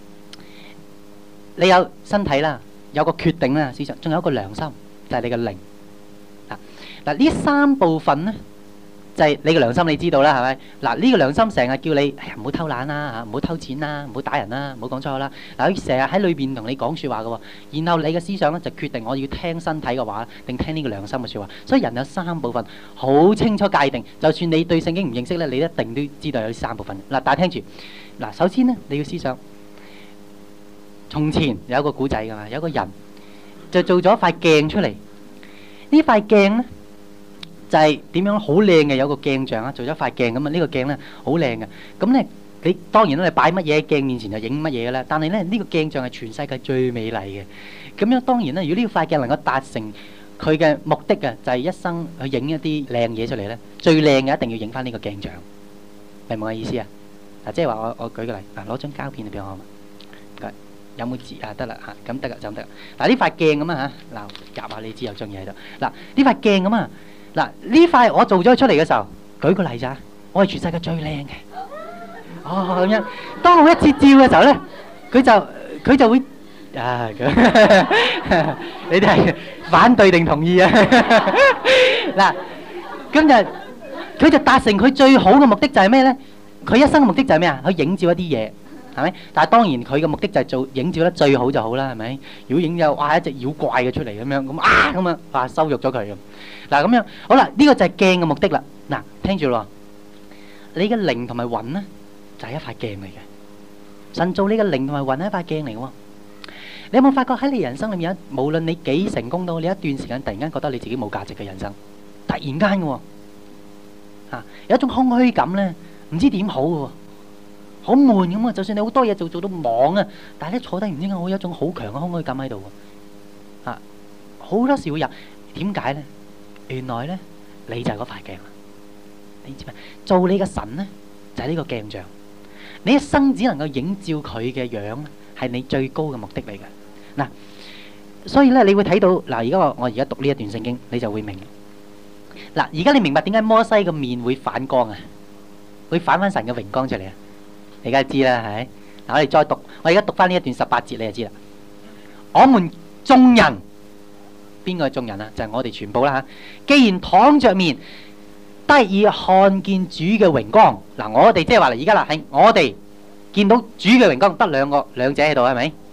你有身體啦，有個決定啦，事實仲有一個良心，就係你嘅靈嚇。嗱，呢三部分咧。就係你個良心，你知道啦，係咪？嗱，呢個良心成日叫你，哎呀，唔好偷懶啦，嚇，唔好偷錢啦，唔好打人啦，唔好講錯啦。嗱，佢成日喺裏邊同你講説話嘅喎，然後你嘅思想咧就決定我要聽身體嘅話，定聽呢個良心嘅説話。所以人有三部分，好清楚界定。就算你對聖經唔認識咧，你一定都知道有呢三部分。嗱，但係聽住，嗱，首先咧你要思想，從前有一個古仔㗎嘛，有個人就做咗塊鏡出嚟，呢塊鏡咧。就係點樣好靚嘅，有個鏡像啊，做咗塊鏡咁啊。呢個鏡咧好靚嘅，咁咧你當然啦，你擺乜嘢喺鏡面前就影乜嘢嘅啦。但係咧呢個鏡像係全世界最美麗嘅。咁樣當然啦，如果呢塊鏡能夠達成佢嘅目的啊，就係一生去影一啲靚嘢出嚟咧，最靚嘅一定要影翻呢個鏡像，明唔明我意思啊？嗱，即係話我我舉個例，嗱，攞張膠片嚟俾我好嘛？唔該，有冇字啊？得啦嚇，咁得啦就咁得啦。嗱，呢塊鏡咁啊嚇，嗱夾下你知有張嘢喺度。嗱，呢塊鏡咁啊。嗱，呢塊我做咗出嚟嘅時候，舉個例咋，我係全世界最靚嘅。哦咁樣，當我一接照嘅時候咧，佢就佢就會啊，你哋係反對定同意啊？嗱，今日佢就達成佢最好嘅目的就係咩咧？佢一生嘅目的就係咩啊？去影照一啲嘢，係咪？但係當然佢嘅目的就係做影照得最好就好啦，係咪？如果影有哇一隻妖怪嘅出嚟咁樣，咁啊咁啊，哇羞辱咗佢咁。嗱咁樣，好啦，呢個就係鏡嘅目的啦。嗱，聽住咯，你嘅靈同埋魂咧，就係一塊鏡嚟嘅。神造你嘅靈同埋魂係一塊鏡嚟嘅喎。你有冇發覺喺你人生裏面，無論你幾成功到，你一段時間突然間覺得你自己冇價值嘅人生，突然間嘅喎，嚇有一種空虛感咧，唔知點好嘅喎，好悶咁啊！就算你好多嘢做，做到忙啊，但係咧坐低唔知點解會有一種好強嘅空虛感喺度喎，嚇好多時會有，點解咧？原來咧，你就係嗰塊鏡啦。你知咩？做你嘅神咧，就係呢個鏡像。你一生只能夠映照佢嘅樣，係你最高嘅目的嚟嘅。嗱，所以咧，你會睇到嗱，而家我我而家讀呢一段聖經，你就會明。嗱，而家你明白點解摩西嘅面會反光啊？會反翻神嘅榮光出嚟啊？你梗係知啦，係咪？嗱，我哋再讀，我而家讀翻呢一段十八節，你就知啦。我們眾人。邊個係眾人啊？就係我哋全部啦嚇。既然躺着面得以看見主嘅榮光，嗱，我哋即係話嚟而家啦，係我哋見到主嘅榮光，得兩個兩者喺度係咪？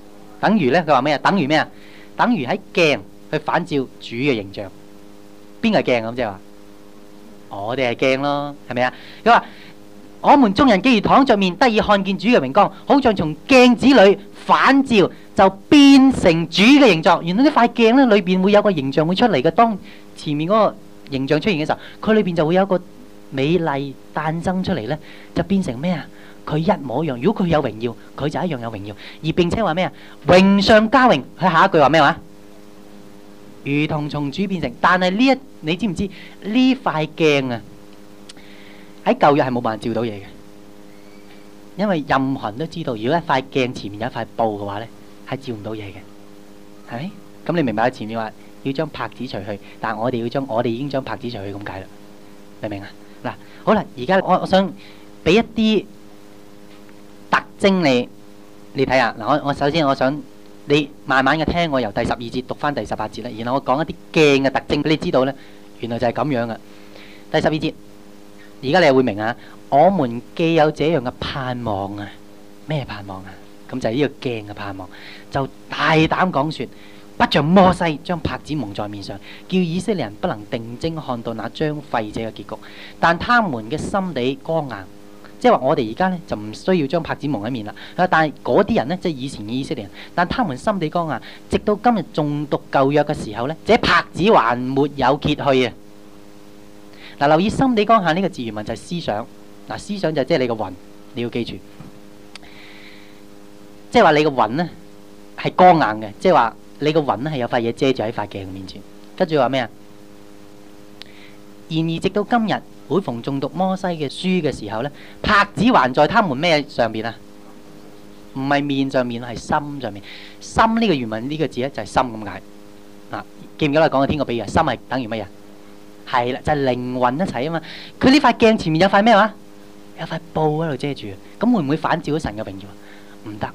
等於咧，佢話咩啊？等於咩啊？等於喺鏡去反照主嘅形象。邊個係鏡咁即係話？我哋係鏡咯，係咪啊？佢話我們眾人既然躺着面，得以看見主嘅榮光，好像從鏡子裏反照，就變成主嘅形狀。原來呢塊鏡咧裏邊會有個形象會出嚟嘅。當前面嗰個形象出現嘅時候，佢裏邊就會有個美麗誕生出嚟咧，就變成咩啊？佢一模一樣。如果佢有榮耀，佢就一樣有榮耀。而並且話咩啊？榮上加榮。佢下一句話咩話？如同從主變成。但係呢一你知唔知呢塊鏡啊？喺舊約係冇辦法照到嘢嘅，因為任何人都知道，如果一塊鏡前面有一塊布嘅話咧，係照唔到嘢嘅，係咪？咁你明白？前面話要將帕子除去，但係我哋要將我哋已經將帕子除去咁解啦，明唔明啊？嗱，好啦，而家我我想俾一啲特徵你，你睇下嗱。我我首先我想你慢慢嘅聽，我由第十二節讀翻第十八節啦，然後我講一啲鏡嘅特徵俾你知道咧，原來就係咁樣嘅。第十二節，而家你又會明啊！我們既有這樣嘅盼望啊，咩盼望啊？咁就係呢個鏡嘅盼望，就大膽講說，不像摩西將帕子蒙在面上，叫以色列人不能定睛看到那將廢者嘅結局。但他們嘅心地剛硬，即係話我哋而家咧就唔需要將帕子蒙喺面啦。但係嗰啲人咧，即係以前嘅以色列人，但他們心地剛硬，直到今日仲讀舊約嘅時候咧，這帕子還沒有揭去啊！嗱，留意心地剛硬呢個字原文就係思想。嗱，思想就即係你個魂，你要記住，即係話你個魂咧係剛硬嘅，即係話你個魂咧係有塊嘢遮住喺塊鏡面前。跟住話咩啊？然而直到今日，每逢誦讀摩西嘅書嘅時候咧，帕子還在他們咩上邊啊？唔係面上面，係心上面。心呢個原文呢個字咧就係心咁解。嗱，記唔記得我講嘅天國比喻啊？心係等於乜嘢？係啦，就係靈魂一齊啊嘛。佢呢塊鏡前面有塊咩話？有塊布喺度遮住，咁會唔會反照到神嘅榮耀啊？唔得。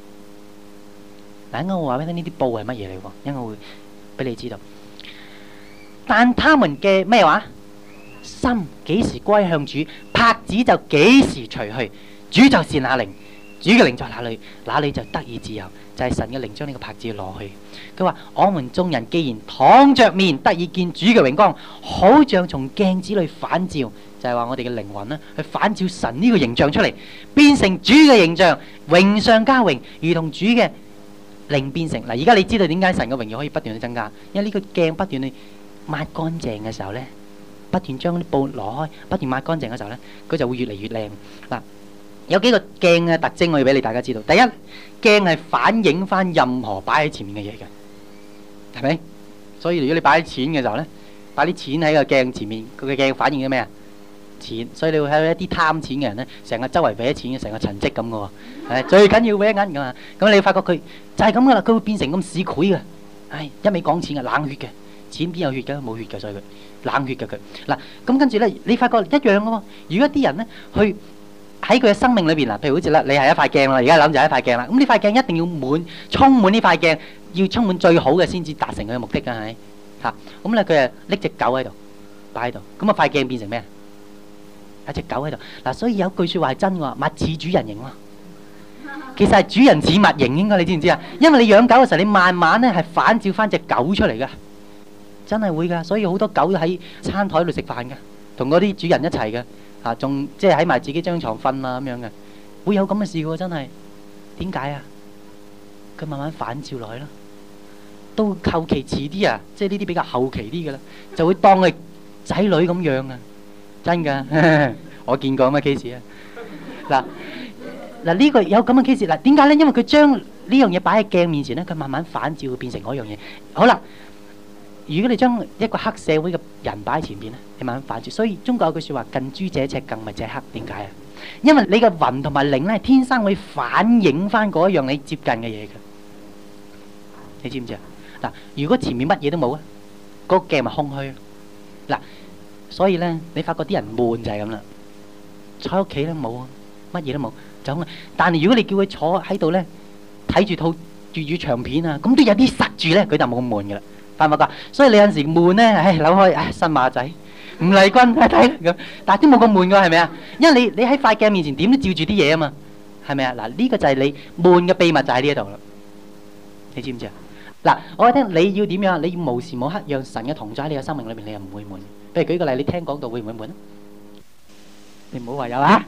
嗱，應該我話俾你聽，呢啲布係乜嘢嚟喎？應該會俾你知道。但他們嘅咩話？心幾時歸向主，帕子就幾時除去。主就是那靈，主嘅靈在哪裏，哪裏就得以自由。就係神嘅靈將呢個帕子攞去。佢話：我們眾人既然躺着面，得以見主嘅榮光，好像從鏡子裏反照，就係話我哋嘅靈魂咧，去反照神呢個形象出嚟，變成主嘅形象，榮上加榮，如同主嘅靈變成。嗱，而家你知道點解神嘅榮耀可以不斷去增加？因為呢個鏡不斷去抹乾淨嘅時候咧，不斷將啲布攞開，不斷抹乾淨嘅時候咧，佢就會越嚟越靚。嗱，有幾個鏡嘅特徵我要俾你大家知道。第一，鏡係反映翻任何擺喺前面嘅嘢嘅，係咪？所以如果你擺啲錢嘅時候咧，擺啲錢喺個鏡前面，佢嘅鏡反映咗咩啊？錢。所以你會睇到一啲貪錢嘅人咧，成個周圍搲錢嘅，成個塵跡咁嘅喎。係最緊要搲銀㗎嘛。咁你會發覺佢就係咁噶啦，佢會變成咁市儈嘅。唉，一味講錢嘅，冷血嘅，錢邊有血㗎？冇血㗎，所以佢冷血㗎佢。嗱，咁跟住咧，你發覺一樣嘅喎。如果啲人咧去喺佢嘅生命裏邊嗱，譬如好似啦，你係一塊鏡啦，而家諗就係一塊鏡啦。咁呢塊鏡一定要滿，充滿呢塊鏡，要充滿最好嘅先至達成佢嘅目的㗎，係咪？嚇，咁咧佢誒拎隻狗喺度擺喺度，咁啊塊鏡變成咩啊？有隻狗喺度嗱，所以有句説話係真㗎，物似主人形喎。其實係主人似物形應該，你知唔知啊？因為你養狗嘅時候，你慢慢咧係反照翻隻狗出嚟㗎，真係會㗎。所以好多狗喺餐台度食飯㗎，同嗰啲主人一齊嘅。啊，仲即係喺埋自己張床瞓啊咁樣嘅，會有咁嘅事嘅喎，真係。點解啊？佢慢慢反照落去咯。到後期遲啲啊，即係呢啲比較後期啲嘅啦，就會當佢仔女咁養啊，真㗎。我見過咁嘅 case 啊。嗱嗱呢個有咁嘅 case，嗱點解咧？因為佢將呢樣嘢擺喺鏡面前咧，佢慢慢反照會變成嗰樣嘢。好啦。如果你將一個黑社會嘅人擺喺前邊咧，你慢慢反轉。所以中國有句説話：近朱者赤，近墨者黑。點解啊？因為你嘅魂同埋靈咧，天生會反映翻嗰一樣你接近嘅嘢嘅。你知唔知啊？嗱，如果前面乜嘢都冇啊，嗰個鏡咪空虛。嗱，所以咧，你發覺啲人悶就係咁啦。坐喺屋企咧冇啊，乜嘢都冇，就咁啊。但係如果你叫佢坐喺度咧，睇住套粵語長片啊，咁都有啲實住咧，佢就冇咁悶噶啦。係咪㗎？所以你有陣時悶咧，唉扭開，唉新馬仔吳麗君睇睇咁，但係都冇咁悶㗎，係咪啊？因為你你喺塊鏡面前點都照住啲嘢啊嘛，係咪啊？嗱，呢個就係你悶嘅秘密就喺呢一度啦。 你知唔知啊？嗱，我話聽你要點樣？你要無時無刻讓神嘅同在喺你嘅生命裏面，你又唔會悶。譬如舉個例，你聽講道會唔會悶啊？你唔好話有啊！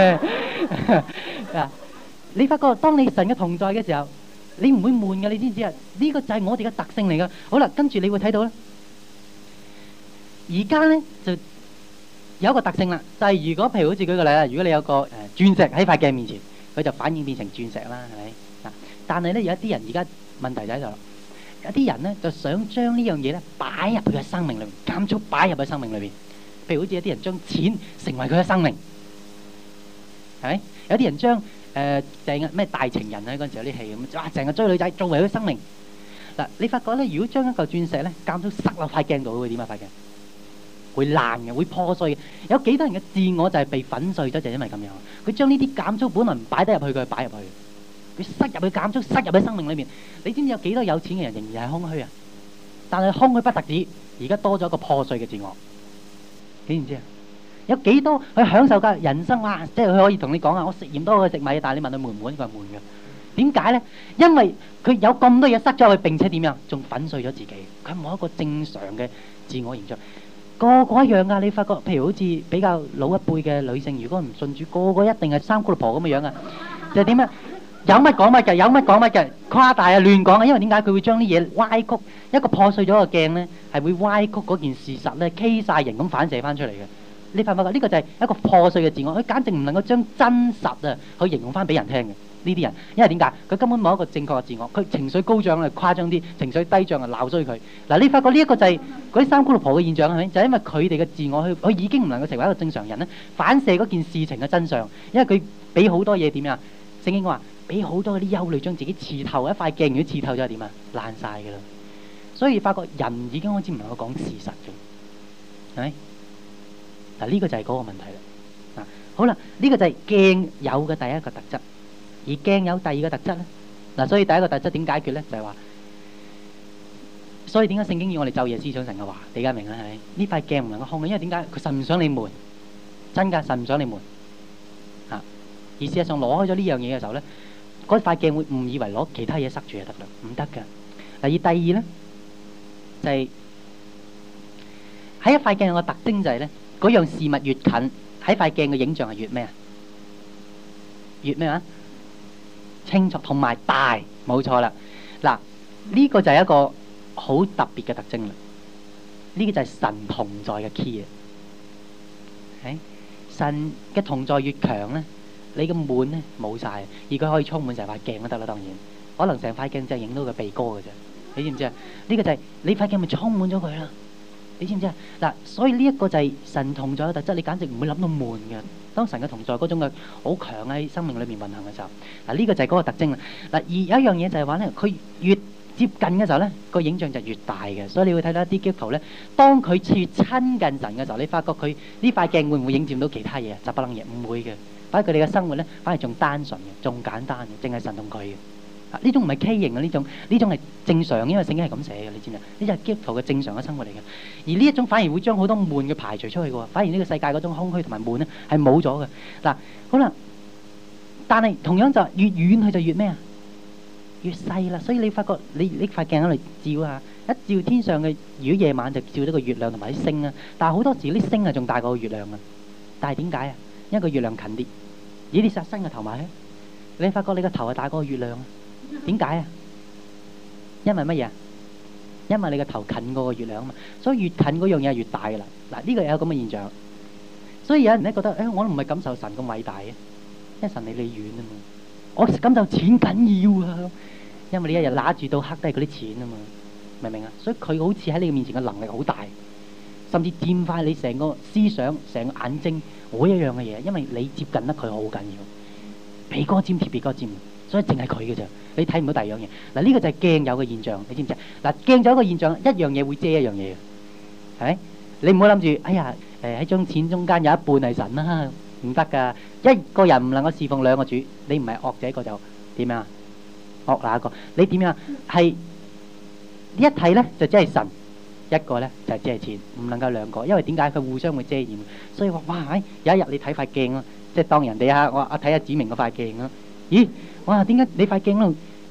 啊，你發覺當你神嘅同在嘅時候，你唔會悶嘅，你知唔知啊？呢個就係我哋嘅特性嚟噶。好啦，跟住你會睇到咧，而家咧就有一個特性啦，就係如果譬如好似舉個例啦，如果你有個誒鑽石喺塊鏡面前，佢就反應變成鑽石啦，係咪？嗱，但係咧有一啲人而家問題就喺度啦，有啲人咧就想將呢樣嘢咧擺入佢嘅生命裏面，監速擺入佢生命裏邊。譬如好似有啲人將錢成為佢嘅生命，係咪？有啲人將誒成日咩大情人咧嗰陣時有啲戲咁，哇！成日追女仔作為佢嘅生命。嗱，你發覺咧，如果將一嚿鑽石咧監速塞落塊鏡度，會點啊？塊鏡會爛嘅，會破碎嘅。有幾多人嘅自我就係被粉碎咗，就係因為咁樣。佢將呢啲監速本來唔擺得入去，佢擺入去，佢塞入去監速，塞入去生命裏面。你知唔知有幾多有錢嘅人仍然係空虛啊？但係空虛不特止，而家多咗一個破碎嘅自我。你知唔知啊？有幾多去享受嘅人生哇！即係佢可以同你講啊，我食鹽多過食米，但係你問佢悶唔悶？佢話悶嘅。點解咧？因為佢有咁多嘢塞咗去，並且點樣？仲粉碎咗自己。佢冇一個正常嘅自我形象。個個一樣噶，你發覺譬如好似比較老一輩嘅女性，如果唔信主，個個一定係三姑六婆咁嘅樣啊！就係點啊？有乜講乜嘅，有乜講乜嘅，誇大啊，亂講啊！因為點解佢會將啲嘢歪曲？一個破碎咗嘅鏡咧，係會歪曲嗰件事實咧，K 曬型咁反射翻出嚟嘅。你發唔發覺？呢個就係一個破碎嘅自我，佢簡直唔能夠將真實啊去形容翻俾人聽嘅。呢啲人，因為點解？佢根本冇一個正確嘅自我，佢情緒高漲啊，誇張啲；情緒低漲啊，鬧衰佢。嗱，你發覺呢一個就係嗰啲三姑六婆嘅現象係咪？就係因為佢哋嘅自我，佢佢已經唔能夠成為一個正常人咧，反射嗰件事情嘅真相。因為佢俾好多嘢點啊？聖經話俾好多嗰啲憂慮將自己刺透，一塊鏡如果刺透咗係點啊？爛晒㗎啦！所以發覺人已經開始唔能夠講事實嘅，係咪？嗱，呢個就係嗰個問題啦。嗱，好啦，呢個就係鏡有嘅第一個特質。而鏡有第二個特質咧，嗱，所以第一個特質點解決咧？就係話，所以點解聖經要我哋晝夜思想神嘅話？你而家明啦，係咪？呢塊鏡唔能夠空嘅，因為點解？佢神唔想你悶，真㗎，神唔想你悶嚇。而事實上攞開咗呢樣嘢嘅時候咧，嗰塊鏡會誤以為攞其他嘢塞住就得啦，唔得㗎。而第二咧，就係喺一塊鏡有個特徵就係咧，嗰樣事物越近，喺塊鏡嘅影像係越咩啊？越咩啊？清楚同埋大，冇錯啦。嗱，呢個就係一個好特別嘅特徵啦。呢個就係神同在嘅 key 啊！係神嘅同在越強咧，你嘅滿咧冇晒，而佢可以充滿成塊鏡都得啦。當然，可能成塊鏡就係影到佢鼻哥嘅啫。你知唔知啊？呢個就係你塊鏡咪充滿咗佢啦。你知唔知啊？嗱，所以呢一個就係神同在嘅特質，你簡直唔會諗到悶嘅。當神嘅同在嗰種嘅好強喺生命裏面運行嘅時候，嗱，呢個就係嗰個特徵啦。嗱，而有一樣嘢就係話咧，佢越接近嘅時候咧，個影像就越大嘅。所以你會睇到一啲基督徒咧，當佢越親近神嘅時候，你發覺佢呢塊鏡會唔會影佔到其他嘢啊？雜不楞嘢唔會嘅，反而佢哋嘅生活咧，反而仲單純嘅，仲簡單嘅，淨係神同佢嘅。呢種唔係畸形嘅，呢種呢種係正常，因為聖經係咁寫嘅，你知唔知啊？呢就係基督徒嘅正常嘅生活嚟嘅。而呢一種反而會將好多悶嘅排除出去嘅喎，反而呢個世界嗰種空虛同埋悶咧係冇咗嘅。嗱，好啦，但係同樣就越遠佢就越咩啊？越細啦。所以你發覺你呢塊鏡喺度照下，一照天上嘅，如果夜晚就照到個月亮同埋啲星啊。但係好多時啲星係仲大過個月亮啊。但係點解啊？因為個月亮近啲，咦？你殺伸個頭埋去，你發覺你個頭係大過個月亮啊？點解啊？因為乜嘢啊？因為你個頭近過個月亮啊嘛，所以越近嗰樣嘢係越大噶啦。嗱，呢個有咁嘅現象，所以有人咧覺得，誒，我唔係感受神咁偉大嘅，因為神離你遠啊嘛。我感受錢緊要啊，因為你一日揦住到黑都係嗰啲錢啊嘛，明唔明啊？所以佢好似喺你面前嘅能力好大，甚至佔快你成個思想、成個眼睛每一樣嘅嘢，因為你接近得佢好緊要，鼻哥尖貼鼻哥尖。所以淨係佢嘅啫，你睇唔到第二樣嘢。嗱，呢個就係鏡有嘅現象，你知唔知啊？嗱，鏡有一個現象，一樣嘢會遮一樣嘢嘅，係咪？你唔好諗住，哎呀，誒喺張錢中間有一半係神啦，唔得㗎。一個人唔能夠侍奉兩個主，你唔係惡者個就點樣？惡哪一個？你點樣？係一睇咧就只係神，一個咧就只係錢，唔能夠兩個，因為點解？佢互相會遮掩。所以話哇，有一日你睇塊鏡啊，即係當人哋啊，我我睇下子明嗰塊鏡啊，咦？哇！點解你塊鏡度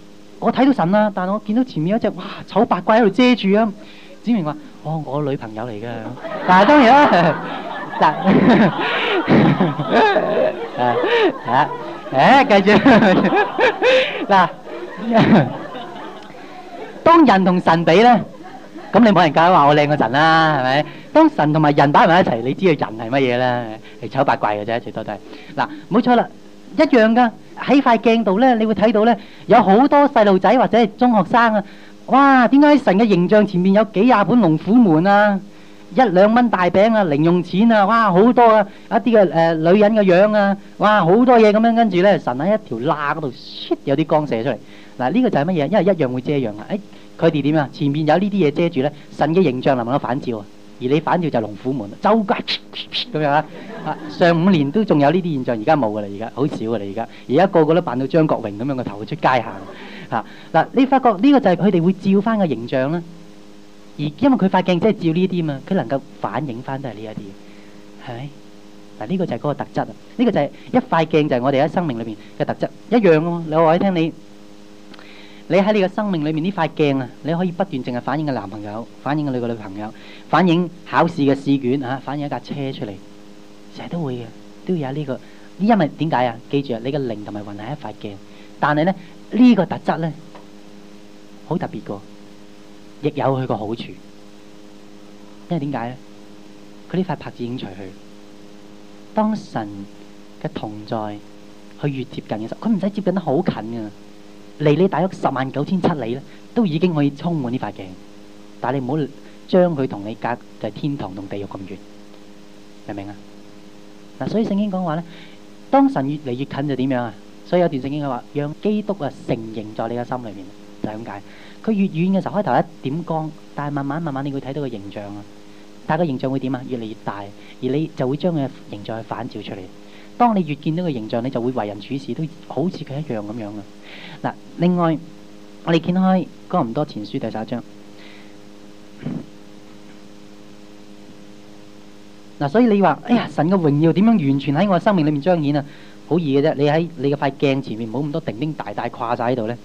我睇到神啦，但我見到前面有一隻哇醜八怪喺度遮住啊！子明話：哦，我女朋友嚟㗎。但係當然啦，嗱，啊啊，誒，繼續嗱，當人同神比咧，咁你冇人夠話我靚過神啦，係咪？當神同埋人擺埋一齊，你知道人係乜嘢咧？係醜八怪嘅啫，最多都係嗱，冇錯啦，一樣㗎。喺塊鏡度咧，你會睇到咧，有好多細路仔或者係中學生啊！哇，點解喺神嘅形象前面有幾廿本龍虎門啊？一兩蚊大餅啊，零用錢啊，哇，好多啊！一啲嘅誒女人嘅樣啊，哇，好多嘢咁樣，跟住咧，神喺一條罅嗰度，有啲光射出嚟。嗱，呢個就係乜嘢？因為一樣會遮樣啊！誒，佢哋點啊？前面有呢啲嘢遮住咧，神嘅形象能唔能夠反照啊？而你反照就係龍虎門，周街咁樣啊！上五年都仲有呢啲現象，而家冇噶啦，而家好少噶啦，而家而家個個都扮到張國榮咁樣個頭出街行嚇嗱。你發覺呢個就係佢哋會照翻個形象啦。而因為佢塊鏡真係照呢啲嘛，佢能夠反映翻都係呢一啲，係咪嗱？呢個就係嗰個特質啊！呢個就係一塊鏡，就係我哋喺生命裏邊嘅特質一樣咯。你話我聽你。你喺你嘅生命裏面呢塊鏡啊，你可以不斷淨係反映個男朋友，反映個你個女朋友，反映考試嘅試卷啊，反映一架車出嚟，成日都會嘅，都有呢個。因為點解啊？記住啊，你嘅靈同埋魂係一塊鏡，但係咧呢個特質咧好特別個，亦有佢個好處。因為點解咧？佢呢塊拍子已經除去，當神嘅同在佢越接近嘅時候，佢唔使接近得好近㗎。離你大約十萬九千七里咧，都已經可以充滿呢塊鏡。但係你唔好將佢同你隔就係天堂同地獄咁遠，明唔明啊？嗱，所以聖經講話咧，當神越嚟越近就點樣啊？所以有段聖經佢話，讓基督啊成形在你嘅心裏面，就係咁解。佢越遠嘅時候，開頭一點光，但係慢慢慢慢你會睇到個形象啊。但係個形象會點啊？越嚟越大，而你就會將佢嘅形象去反照出嚟。當你越見到個形象，你就會為人處事都好似佢一樣咁樣啊！嗱，另外我哋見開哥林多前書第十一章。嗱，所以你話，哎呀，神嘅榮耀點樣完全喺我生命裏面彰顯啊？好易嘅啫，你喺你嘅塊鏡前面，唔好咁多叮叮大大掛晒喺度咧。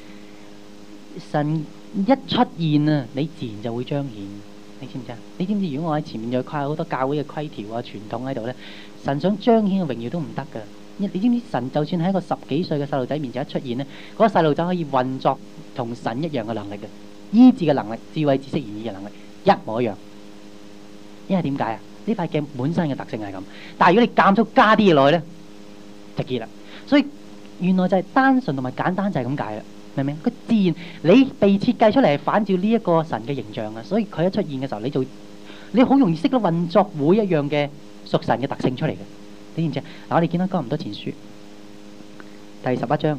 神一出現啊，你自然就會彰顯。你知唔知啊？你知唔知？如果我喺前面再掛好多教會嘅規條啊、傳統喺度咧，神想彰顯嘅榮耀都唔得噶。你知唔知？神就算喺一個十幾歲嘅細路仔面前一出現咧，嗰個細路仔可以運作同神一樣嘅能力嘅，醫治嘅能力、智慧、知識、言語嘅能力一模一樣。因為點解啊？呢塊鏡本身嘅特性係咁，但係如果你間咗加啲嘢落去咧，就結啦。所以原來就係單純同埋簡單就係咁解啦。明唔明？佢自然你被設計出嚟係反照呢一個神嘅形象啊，所以佢一出現嘅時候，你就你好容易識得運作每一樣嘅屬神嘅特性出嚟嘅。你知唔知啊？嗱，我哋見到哥林多前書第十一章，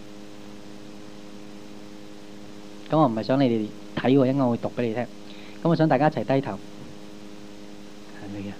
咁我唔係想你哋睇喎，應該我會讀俾你聽。咁我想大家一齊低頭，係咪啊？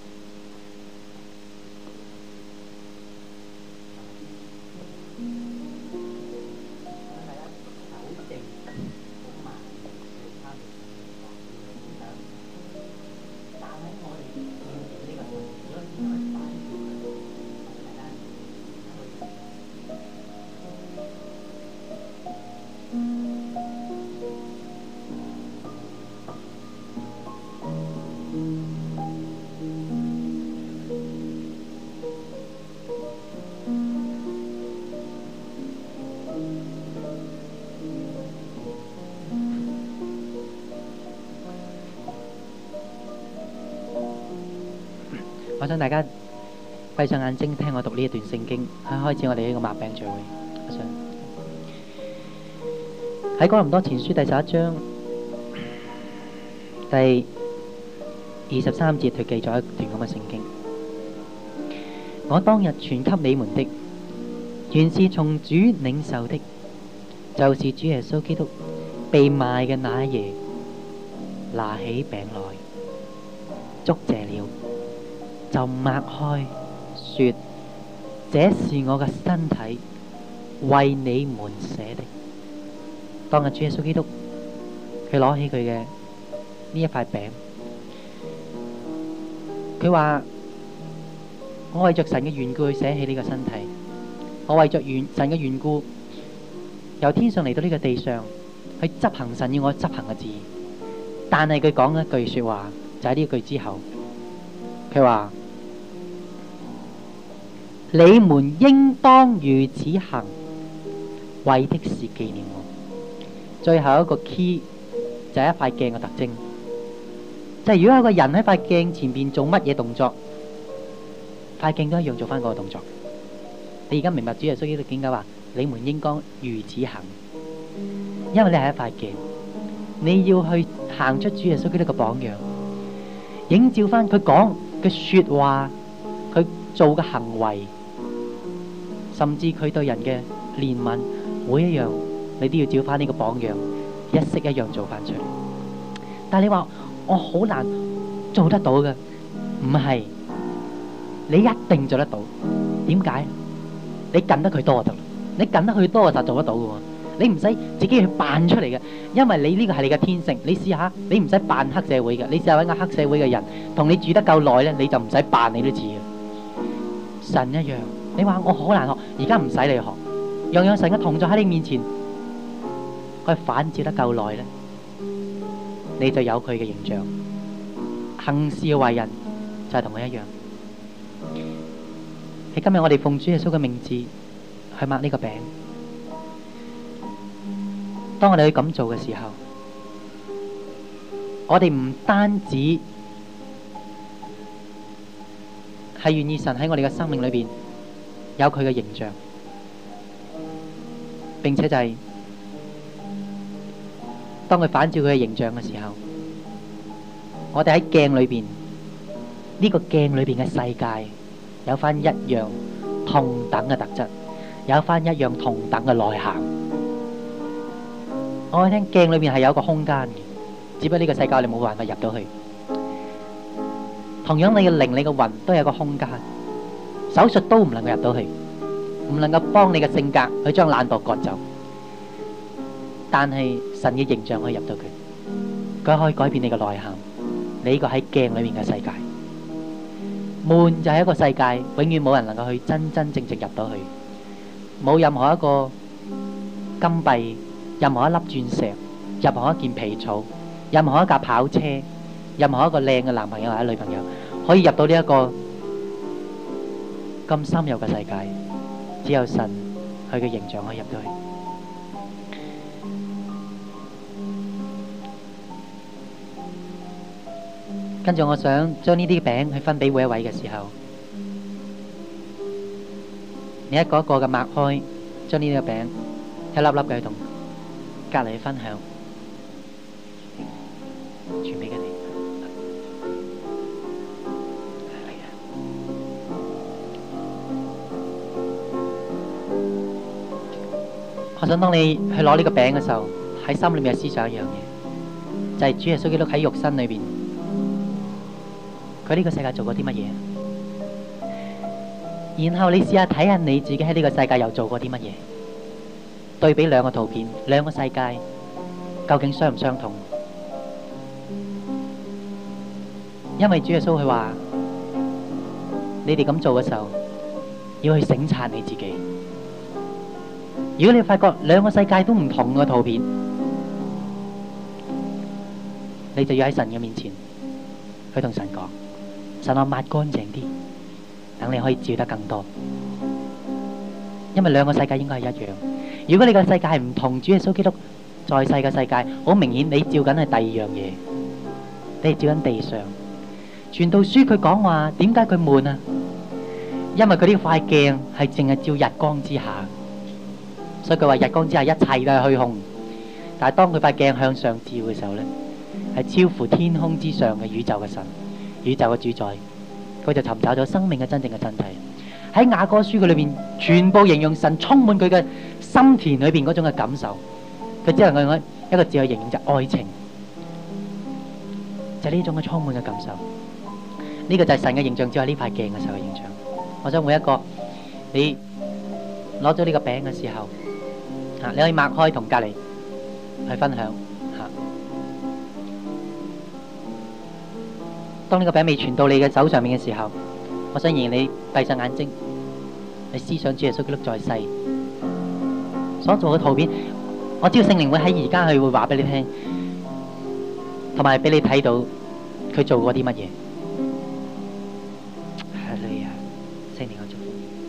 我想大家閉上眼睛聽我讀呢一段聖經，喺開始我哋呢個擘餅聚會。我想喺哥林多前書第十一章第二十三節，佢記咗一段咁嘅聖經。我當日傳給你們的，原是從主領受的，就是主耶穌基督被賣嘅那一夜，拿起餅來，祝謝了，就擘開，說：這是我嘅身體，為你們捨的。當日主耶穌基督，佢攞起佢嘅呢一塊餅，佢話：我為着神嘅緣故去捨棄呢個身體，我為着緣神嘅緣故由天上嚟到呢個地上去執行神要我執行嘅旨意。但係佢講一句說話，就喺呢句之後，佢話：你們應當如此行，為的是紀念我。最後一個 key 就係一塊鏡嘅特徵，就係如果有個人喺塊鏡前邊做乜嘢動作，塊鏡都一樣做翻嗰個動作。你而家明白主耶穌基督點解話你們應該如此行？因為你係一塊鏡，你要去行出主耶穌基督嘅榜樣，映照翻佢講嘅說話，佢做嘅行為，甚至佢對人嘅憐憫，每一樣你都要照翻呢個榜樣，一式一樣做翻出嚟。但係你話我好難做得到嘅，唔係，你一定做得到。點解？你近得佢多就得，你近得佢多就做得到嘅喎。你唔使自己去扮出嚟嘅，因為你呢個係你嘅天性。你試下，你唔使扮黑社會嘅，你試下揾個黑社會嘅人同你住得夠耐咧，你就唔使扮，你都知嘅。神一樣，你話我好難學，而家唔使你學，樣樣神嘅同在喺你面前，佢反照得夠耐咧，你就有佢嘅形象，行事為人就係同佢一樣。喺今日我哋奉主耶穌嘅名字去擘呢個餅。當我哋去咁做嘅時候，我哋唔單止係願意神喺我哋嘅生命裏邊有佢嘅形象，並且就係當佢反照佢嘅形象嘅時候，我哋喺鏡裏邊呢個鏡裏邊嘅世界有翻一樣同等嘅特質，有翻一樣同等嘅內涵。我聽鏡裏面係有一個空間嘅，只不過呢個世界你冇辦法入到去。同樣你嘅靈、你嘅魂都有一個空間，手術都唔能夠入到去，唔能夠幫你嘅性格去將懶惰割走。但係神嘅形象可以入到佢，佢可以改變你嘅內涵。你呢個喺鏡裏面嘅世界，門就係一個世界，永遠冇人能夠去真真正正入到去，冇任何一個金幣，任何一粒鑽石，任何一件皮草，任何一架跑車，任何一個靚嘅男朋友或者女朋友，可以入到呢一個咁深入嘅世界，只有神佢嘅形象可以入到去。跟住我想將呢啲餅去分俾每一位嘅時候，你一個一個嘅擘開，將呢啲嘅餅一粒粒嘅去同隔籬去分享，傳俾佢哋。我想當你去攞呢個餅嘅時候，喺心裏面思想一樣嘢，就係主耶穌基督喺肉身裏邊，佢呢個世界做過啲乜嘢？然後你試下睇下你自己喺呢個世界又做過啲乜嘢？對比兩個圖片，兩個世界究竟相唔相同？因為主耶穌佢話：你哋咁做嘅時候，要去省察你自己。如果你發覺兩個世界都唔同嘅圖片，你就要喺神嘅面前去同神講：神，我抹乾淨啲，等你可以照得更多。因為兩個世界應該係一樣。如果你個世界係唔同，主耶穌基督在世嘅世界，好明顯你照緊係第二樣嘢，你係照緊地上。傳道書佢講話，點解佢悶啊？因為佢呢塊鏡係淨係照日光之下，所以佢話日光之下一切都係虛空。但係當佢塊鏡向上照嘅時候咧，係超乎天空之上嘅宇宙嘅神，宇宙嘅主宰，佢就尋找咗生命嘅真正嘅真諦。喺雅歌書佢裏邊，全部形容神充滿佢嘅心田裏邊嗰種嘅感受。佢只能夠用一個字去形容，就係愛情，就係呢種嘅充滿嘅感受。呢個就係神嘅形象，只係呢塊鏡嘅時候嘅形象。我想每一個你攞咗呢個餅嘅時候，啊，你可以擘開同隔籬去分享吓。當呢個餅未傳到你嘅手上面嘅時候，我想讓你閉上眼睛，你思想主耶穌基督在世， 所做嘅圖片，我知道聖靈會喺而家佢會話俾你聽，同埋俾你睇到佢做過啲乜嘢。係你啊，聖靈我祝福。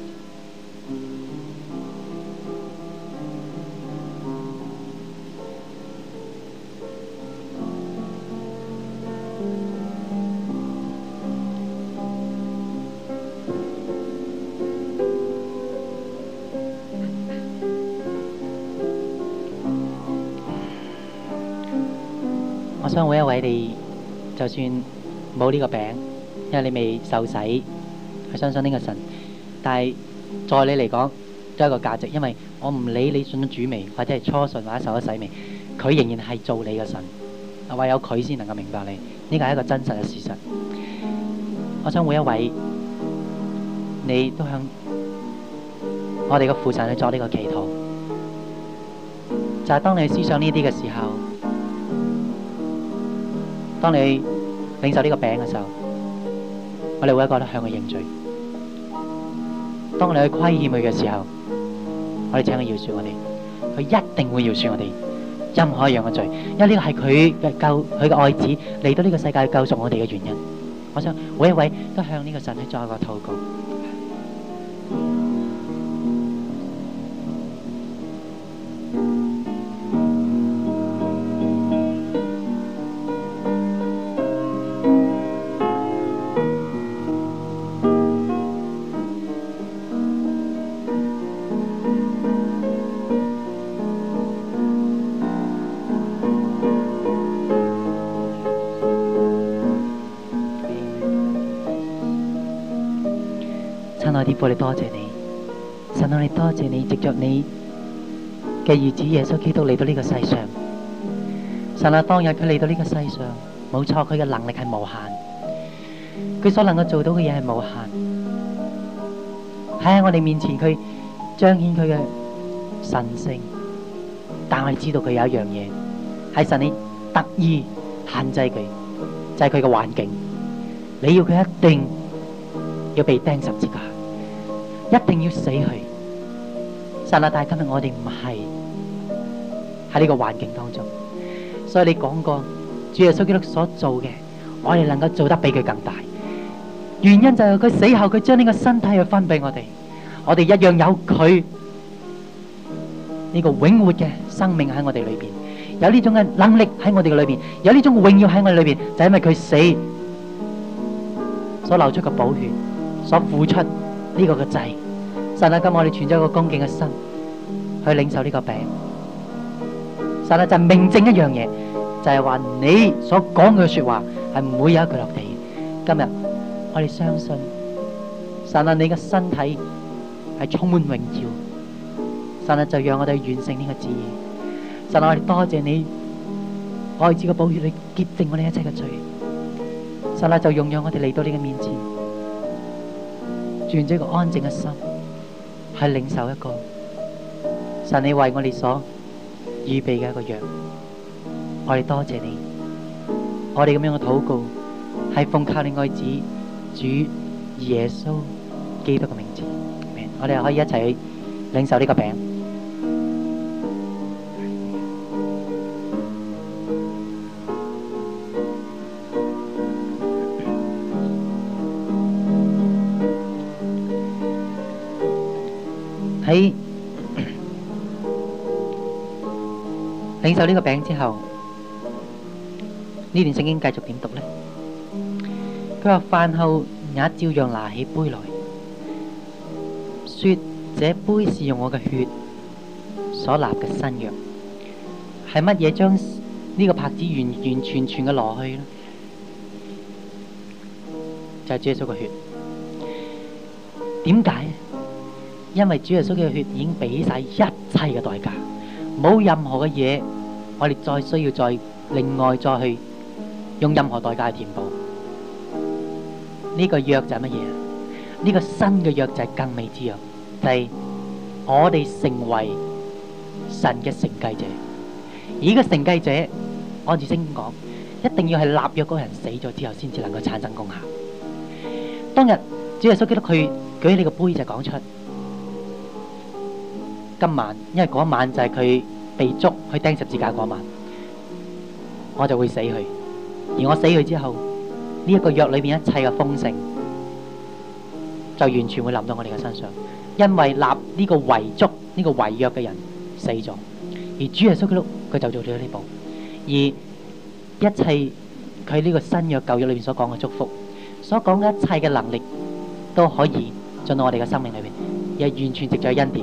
我想每一位你，就算冇呢個餅，因為你未受洗，去相信呢個神，但係在你嚟講都有一個價值，因為我唔理你信咗主未，或者係初信或者受咗洗未，佢仍然係做你嘅神，唯有佢先能夠明白你，呢個係一個真實嘅事實。我想每一位你都向我哋嘅父神去作呢個祈禱，就係當你思想呢啲嘅時候，當你領受呢個餅嘅時候，我哋會覺得向佢認罪。當你去虧欠佢嘅時候，我哋請佢饒恕我哋，佢一定會饒恕我哋任何一樣嘅罪，因為呢個係佢嘅救，佢嘅愛子嚟到呢個世界救贖我哋嘅原因。我想每一位都向呢個神去作一個禱告。親愛的父，我哋多謝你，神啊，我哋多謝你，藉着你嘅兒子耶穌基督嚟到呢個世上。神啊，當日佢嚟到呢個世上，冇錯，佢嘅能力係無限，佢所能夠做到嘅嘢係無限。喺我哋面前，佢彰顯佢嘅神性，但我哋知道佢有一樣嘢係神你特意限制佢，就係佢嘅環境。你要佢一定要被釘十字架，一定要死去。神啊，但係今日我哋唔係喺呢個環境當中，所以你講過主耶穌基督所做嘅，我哋能夠做得比佢更大。原因就係佢死後，佢將呢個身體去分俾我哋，我哋一樣有佢呢個永活嘅生命喺我哋裏邊，有呢種嘅能力喺我哋嘅裏邊，有呢種榮耀喺我哋裏邊，就係因為佢死所流出嘅寶血，所付出呢個嘅祭。神啊，今日我哋存咗一個恭敬嘅心去領受呢個餅。神啊，就明證一樣嘢，就係話你所講嘅說話係唔會有一句落地。今日我哋相信，神啊，你嘅身體係充滿榮耀。神啊，就讓我哋完成呢個旨意。神啊，我哋多謝你愛子嘅寶血，你潔淨我哋一切嘅罪。神啊，就容讓我哋嚟到你嘅面前，存咗一個安靜嘅心，去領受一個神你為我哋所預備嘅一個約。我哋多謝你，我哋咁樣嘅禱告係奉靠你愛子主耶穌基督嘅名字。我哋可以一齊領受呢個餅。喺領受呢個餅之後，呢段聖經繼續點讀呢？佢話飯後也照樣拿起杯來，說：這杯是用我嘅血所立嘅新約。係乜嘢將呢個帕子完完全全嘅攞去呢？就係主耶穌嘅血。點解？因為主耶穌嘅血已經俾晒一切嘅代價，冇任何嘅嘢，我哋再需要再另外再去用任何代價去填補。呢個約就係乜嘢？呢個新嘅約就係更美之約，就係我哋成為神嘅承繼者。而呢個承繼者，按住聖經講，一定要係立約嗰個人死咗之後，先至能夠產生功效。當日主耶穌基督佢舉起呢個杯就講出。 今晚，因為嗰晚就係佢被捉去釘十字架嗰晚，我就會死去。而我死去之後，呢一個約裏邊一切嘅豐盛，就完全會臨到我哋嘅身上，因為立呢個遺囑、呢個遺約嘅人死咗，而主耶穌基督佢就做咗呢步，而一切佢呢個新約舊約裏邊所講嘅祝福，所講嘅一切嘅能力，都可以進到我哋嘅生命裏邊，而係完全藉著恩典。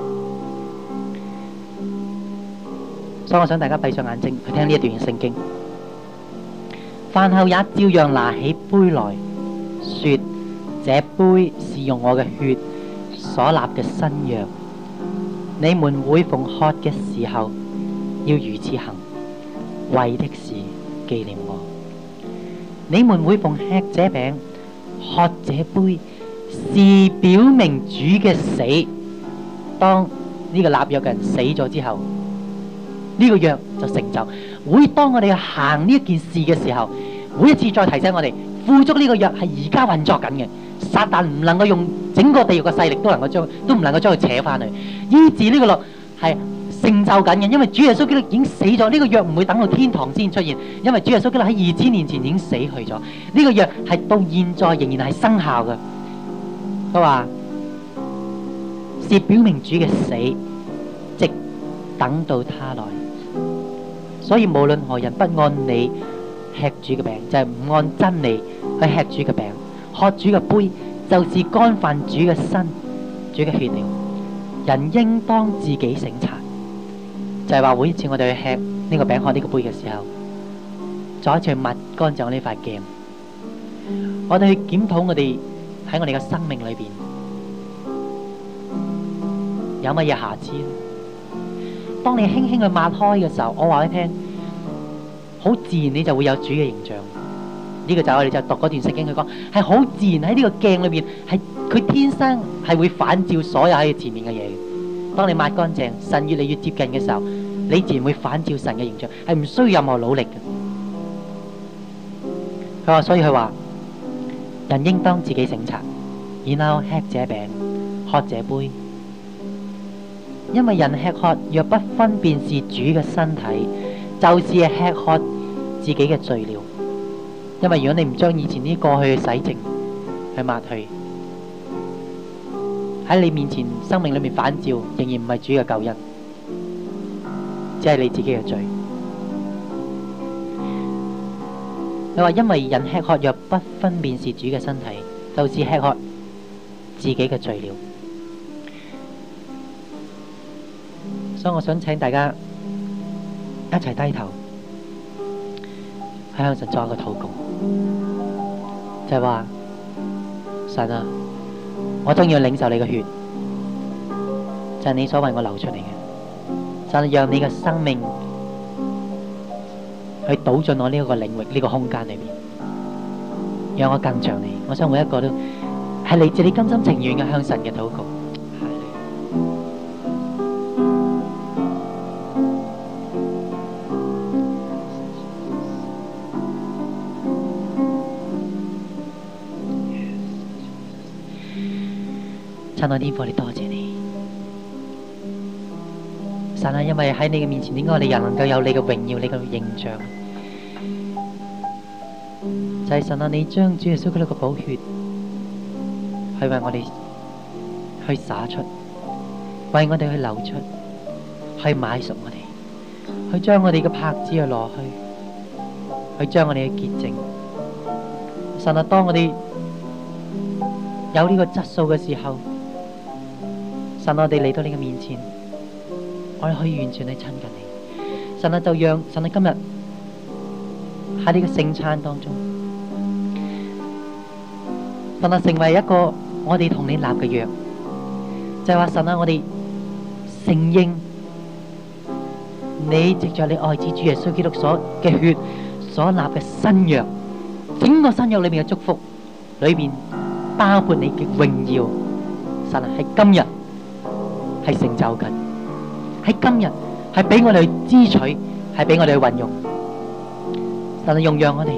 所以我想大家閉上眼睛去聽呢一段嘅聖經。飯後也照樣拿起杯來說：這杯是用我嘅血所立嘅新約，你們每逢喝嘅時候要如此行，為的是紀念我。你們每逢吃這餅、喝這杯，是表明主嘅死。當呢個立約嘅人死咗之後，呢個約就成就。會當我哋行呢一件事嘅時候，每一次再提醒我哋，富足呢個約係而家運作緊嘅。撒旦唔能夠用整個地獄嘅勢力都能夠將，都唔能夠將佢扯翻去，醫治呢個律係成就緊嘅。因為主耶穌基督已經死咗，呢個約唔會等到天堂先出現，因為主耶穌基督喺二千年前已經死去咗。呢個約係到現在仍然係生效嘅。佢話是表明主嘅死，直等到他來。所以無論何人不按理吃主嘅餅，就係唔按真理去吃主嘅餅，喝主嘅杯，就是干犯主嘅身、主嘅血了。人應當自己省察，就係話每一次我哋去吃呢個餅、喝呢個杯嘅時候，再一次去抹乾淨我呢塊鏡，我哋去檢討我哋喺我哋嘅生命裏邊有乜嘢瑕疵。當你輕輕去抹開嘅時候，我話你聽，好自然你就會有主嘅形象。呢個就係我哋就讀嗰段聖經，佢講係好自然喺呢個鏡裏邊，係佢天生係會反照所有喺前面嘅嘢嘅。當你抹乾淨，神越嚟越接近嘅時候，你自然會反照神嘅形象，係唔需要任何努力嘅。佢話，所以佢話人應當自己省察，然後吃這餅，喝這杯。因為人吃喝若不分辨是主嘅身體，就是吃喝自己嘅罪了。因為如果你唔將以前啲過去嘅洗淨去抹去，喺你面前生命裏面反照，仍然唔係主嘅救恩，只係你自己嘅罪。你話因為人吃喝若不分辨是主嘅身體，就是吃喝自己嘅罪了。所以我想請大家一齊低頭，向神作一個禱告，就係話神啊，我都要領受你嘅血，就係你所為我流出嚟嘅，神啊，讓你嘅生命去倒進我呢一個領域、呢個空間裏邊，讓我更像你。我想每一個都係嚟自你甘心情願嘅向神嘅禱告。親愛天父，我哋多謝你，神啊！因為喺你嘅面前，點解我哋人能夠有你嘅榮耀、你嘅形象？就係神啊！你將主耶穌基督嘅寶血，去為我哋去灑出，為我哋去流出，去買贖我哋，去將我哋嘅帕子去攞去，去將我哋嘅潔淨。神啊！當我哋有呢個質素嘅時候，神，我哋嚟到你嘅面前，我哋可以完全去親近你。神啊，就讓神啊今日喺呢個聖餐當中，神啊成為一個我哋同你立嘅約，就係話神啊，我哋承認你藉着你愛子主耶穌基督所嘅血所立嘅新約，整個新約裏面嘅祝福裏面包括你嘅榮耀。神啊，喺今日係成就緊，喺今日係俾我哋去支取，係俾我哋去運用。神啊，用讓我哋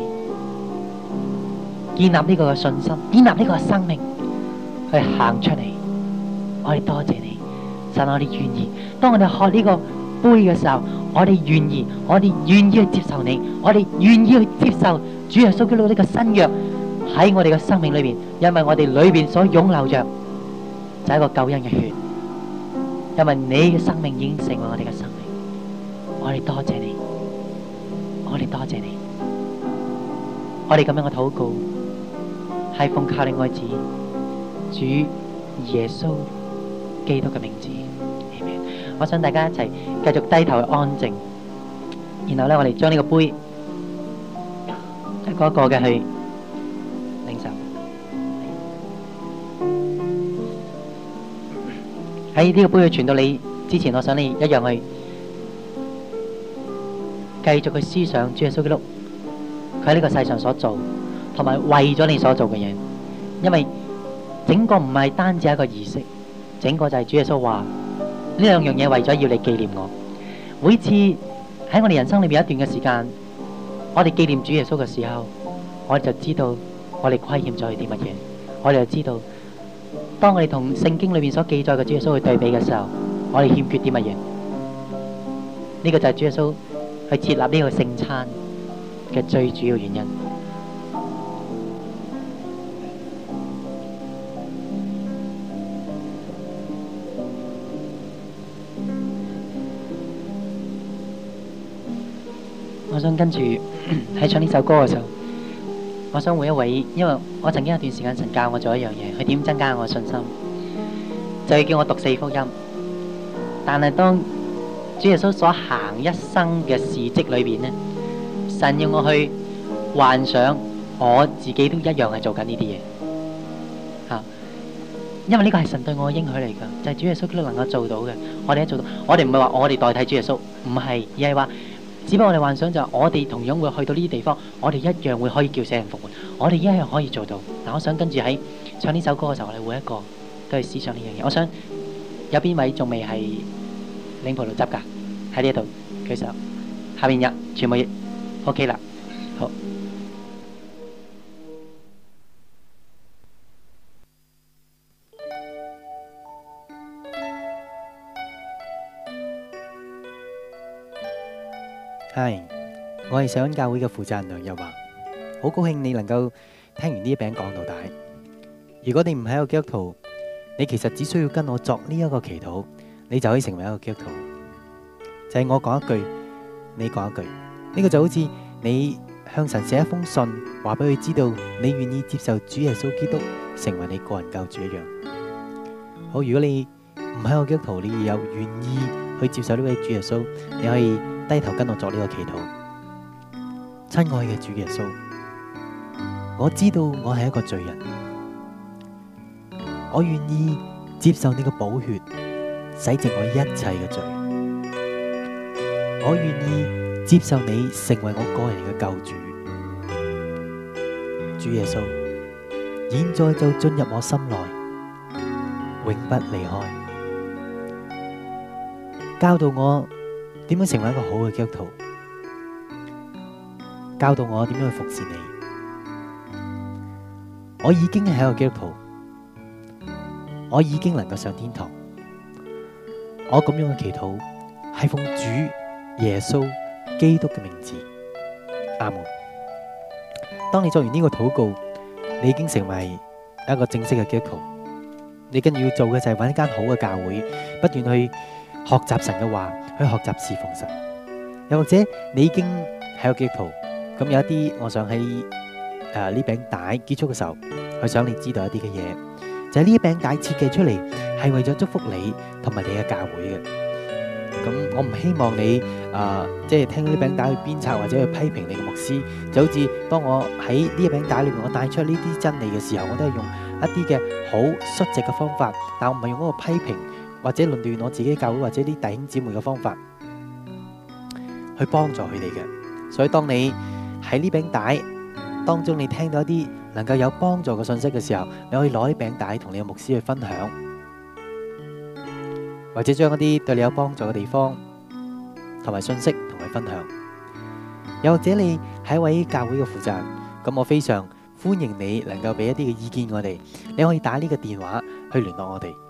建立呢個嘅信心，建立呢個嘅生命去行出嚟。我哋多謝你， 神，我哋願意。當我哋喝呢個杯嘅時候，我哋願意，我哋願意去接受你，我哋願意去接受主耶穌基督呢個新約喺我哋嘅生命裏邊，因為我哋裏邊所湧流着就係一個救恩嘅血，因為你嘅生命已經成為我哋嘅生命。我哋多謝你，我哋多謝你，我哋咁樣嘅禱告係奉靠你愛子主耶穌基督嘅名字。我想大家一齊繼續低頭去安靜，然後咧我哋將呢個杯一個一個嘅去領受。喺呢個杯去傳到你之前，我想你一樣去繼續去思想主耶穌基督佢喺呢個世上所做，同埋為咗你所做嘅嘢。因為整個唔係單止一個儀式，整個就係主耶穌話呢兩樣嘢為咗要你紀念我。每次喺我哋人生裏面一段嘅時間，我哋紀念主耶穌嘅時候，我哋就知道我哋虧欠咗佢啲乜嘢，我哋就知道當我哋同聖經裏面所記載嘅主耶穌去對比嘅時候，我哋欠缺啲乜嘢。呢個就係主耶穌去設立呢個聖餐嘅最主要原因。我想跟住喺唱呢首歌嘅時候，我想每一位，因為我曾經有段時間神教我做一樣嘢，去點增加我嘅信心，就係叫我讀四福音。但係當主耶穌所行一生嘅事蹟裏邊呢，神要我去幻想我自己都一樣係做緊呢啲嘢嚇，因為呢個係神對我嘅應許嚟㗎，就係主耶穌基督能夠做到嘅，我哋都做到。我哋唔係話我哋代替主耶穌，唔係，而係話只不過我哋幻想就係我哋同樣會去到呢啲地方，我哋一樣會可以叫死人復活，我哋一樣可以做到。嗱，我想跟住喺唱呢首歌嘅時候，我哋每一個都係思想呢樣嘢。我想有邊位仲未係領葡萄汁㗎？喺呢度舉手，下邊有全部 OK 啦，好。 係，我係上恩教會嘅負責人梁日華，好高興你能夠聽完呢一餅講到底。如果你唔係一個基督徒，你其實只需要跟我作呢一個祈禱，你就可以成為一個基督徒。就係我講一句，你講一句，呢個就好似你向神寫一封信，話俾佢知道你願意接受主耶穌基督成為你個人救主一樣。好，如果你唔係一個基督徒，你有願意去接受呢位主耶穌，你可以低頭跟我作呢個祈禱。親愛嘅主耶穌，我知道我係一個罪人，我願意接受你嘅寶血洗淨我一切嘅罪，我願意接受你成為我個人嘅救主。主耶穌，現在就進入我心內，永不離開，教導我點樣成為一個好嘅基督徒，教導我點樣去服侍你。我已經係一個基督徒，我已經能夠上天堂。我咁樣嘅祈禱係奉主耶穌基督嘅名字，阿門。當你做完呢個禱告，你已經成為一個正式嘅基督徒。你跟住要做嘅就係揾一間好嘅教會，不斷去學習神嘅話，去學習侍奉神。又或者你已經係個基督徒，咁有一啲，我想喺誒呢餅帶結束嘅時候，去想你知道一啲嘅嘢，就係呢一餅帶設計出嚟係為咗祝福你同埋你嘅教會嘅。咁我唔希望你誒即係聽呢餅帶去鞭策或者去批評你嘅牧師，就好似當我喺呢一餅帶裏面我帶出呢啲真理嘅時候，我都係用一啲嘅好率直嘅方法，但我唔係用嗰個批評或者論斷我自己教會或者啲弟兄姊妹嘅方法去幫助佢哋嘅。所以當你喺呢餅帶當中，你聽到一啲能夠有幫助嘅信息嘅時候，你可以攞呢餅帶同你嘅牧師去分享，或者將一啲對你有幫助嘅地方同埋信息同佢分享。又或者你係一位教會嘅負責人，咁我非常歡迎你能夠俾一啲嘅意見我哋。你可以打呢個電話去聯絡我哋。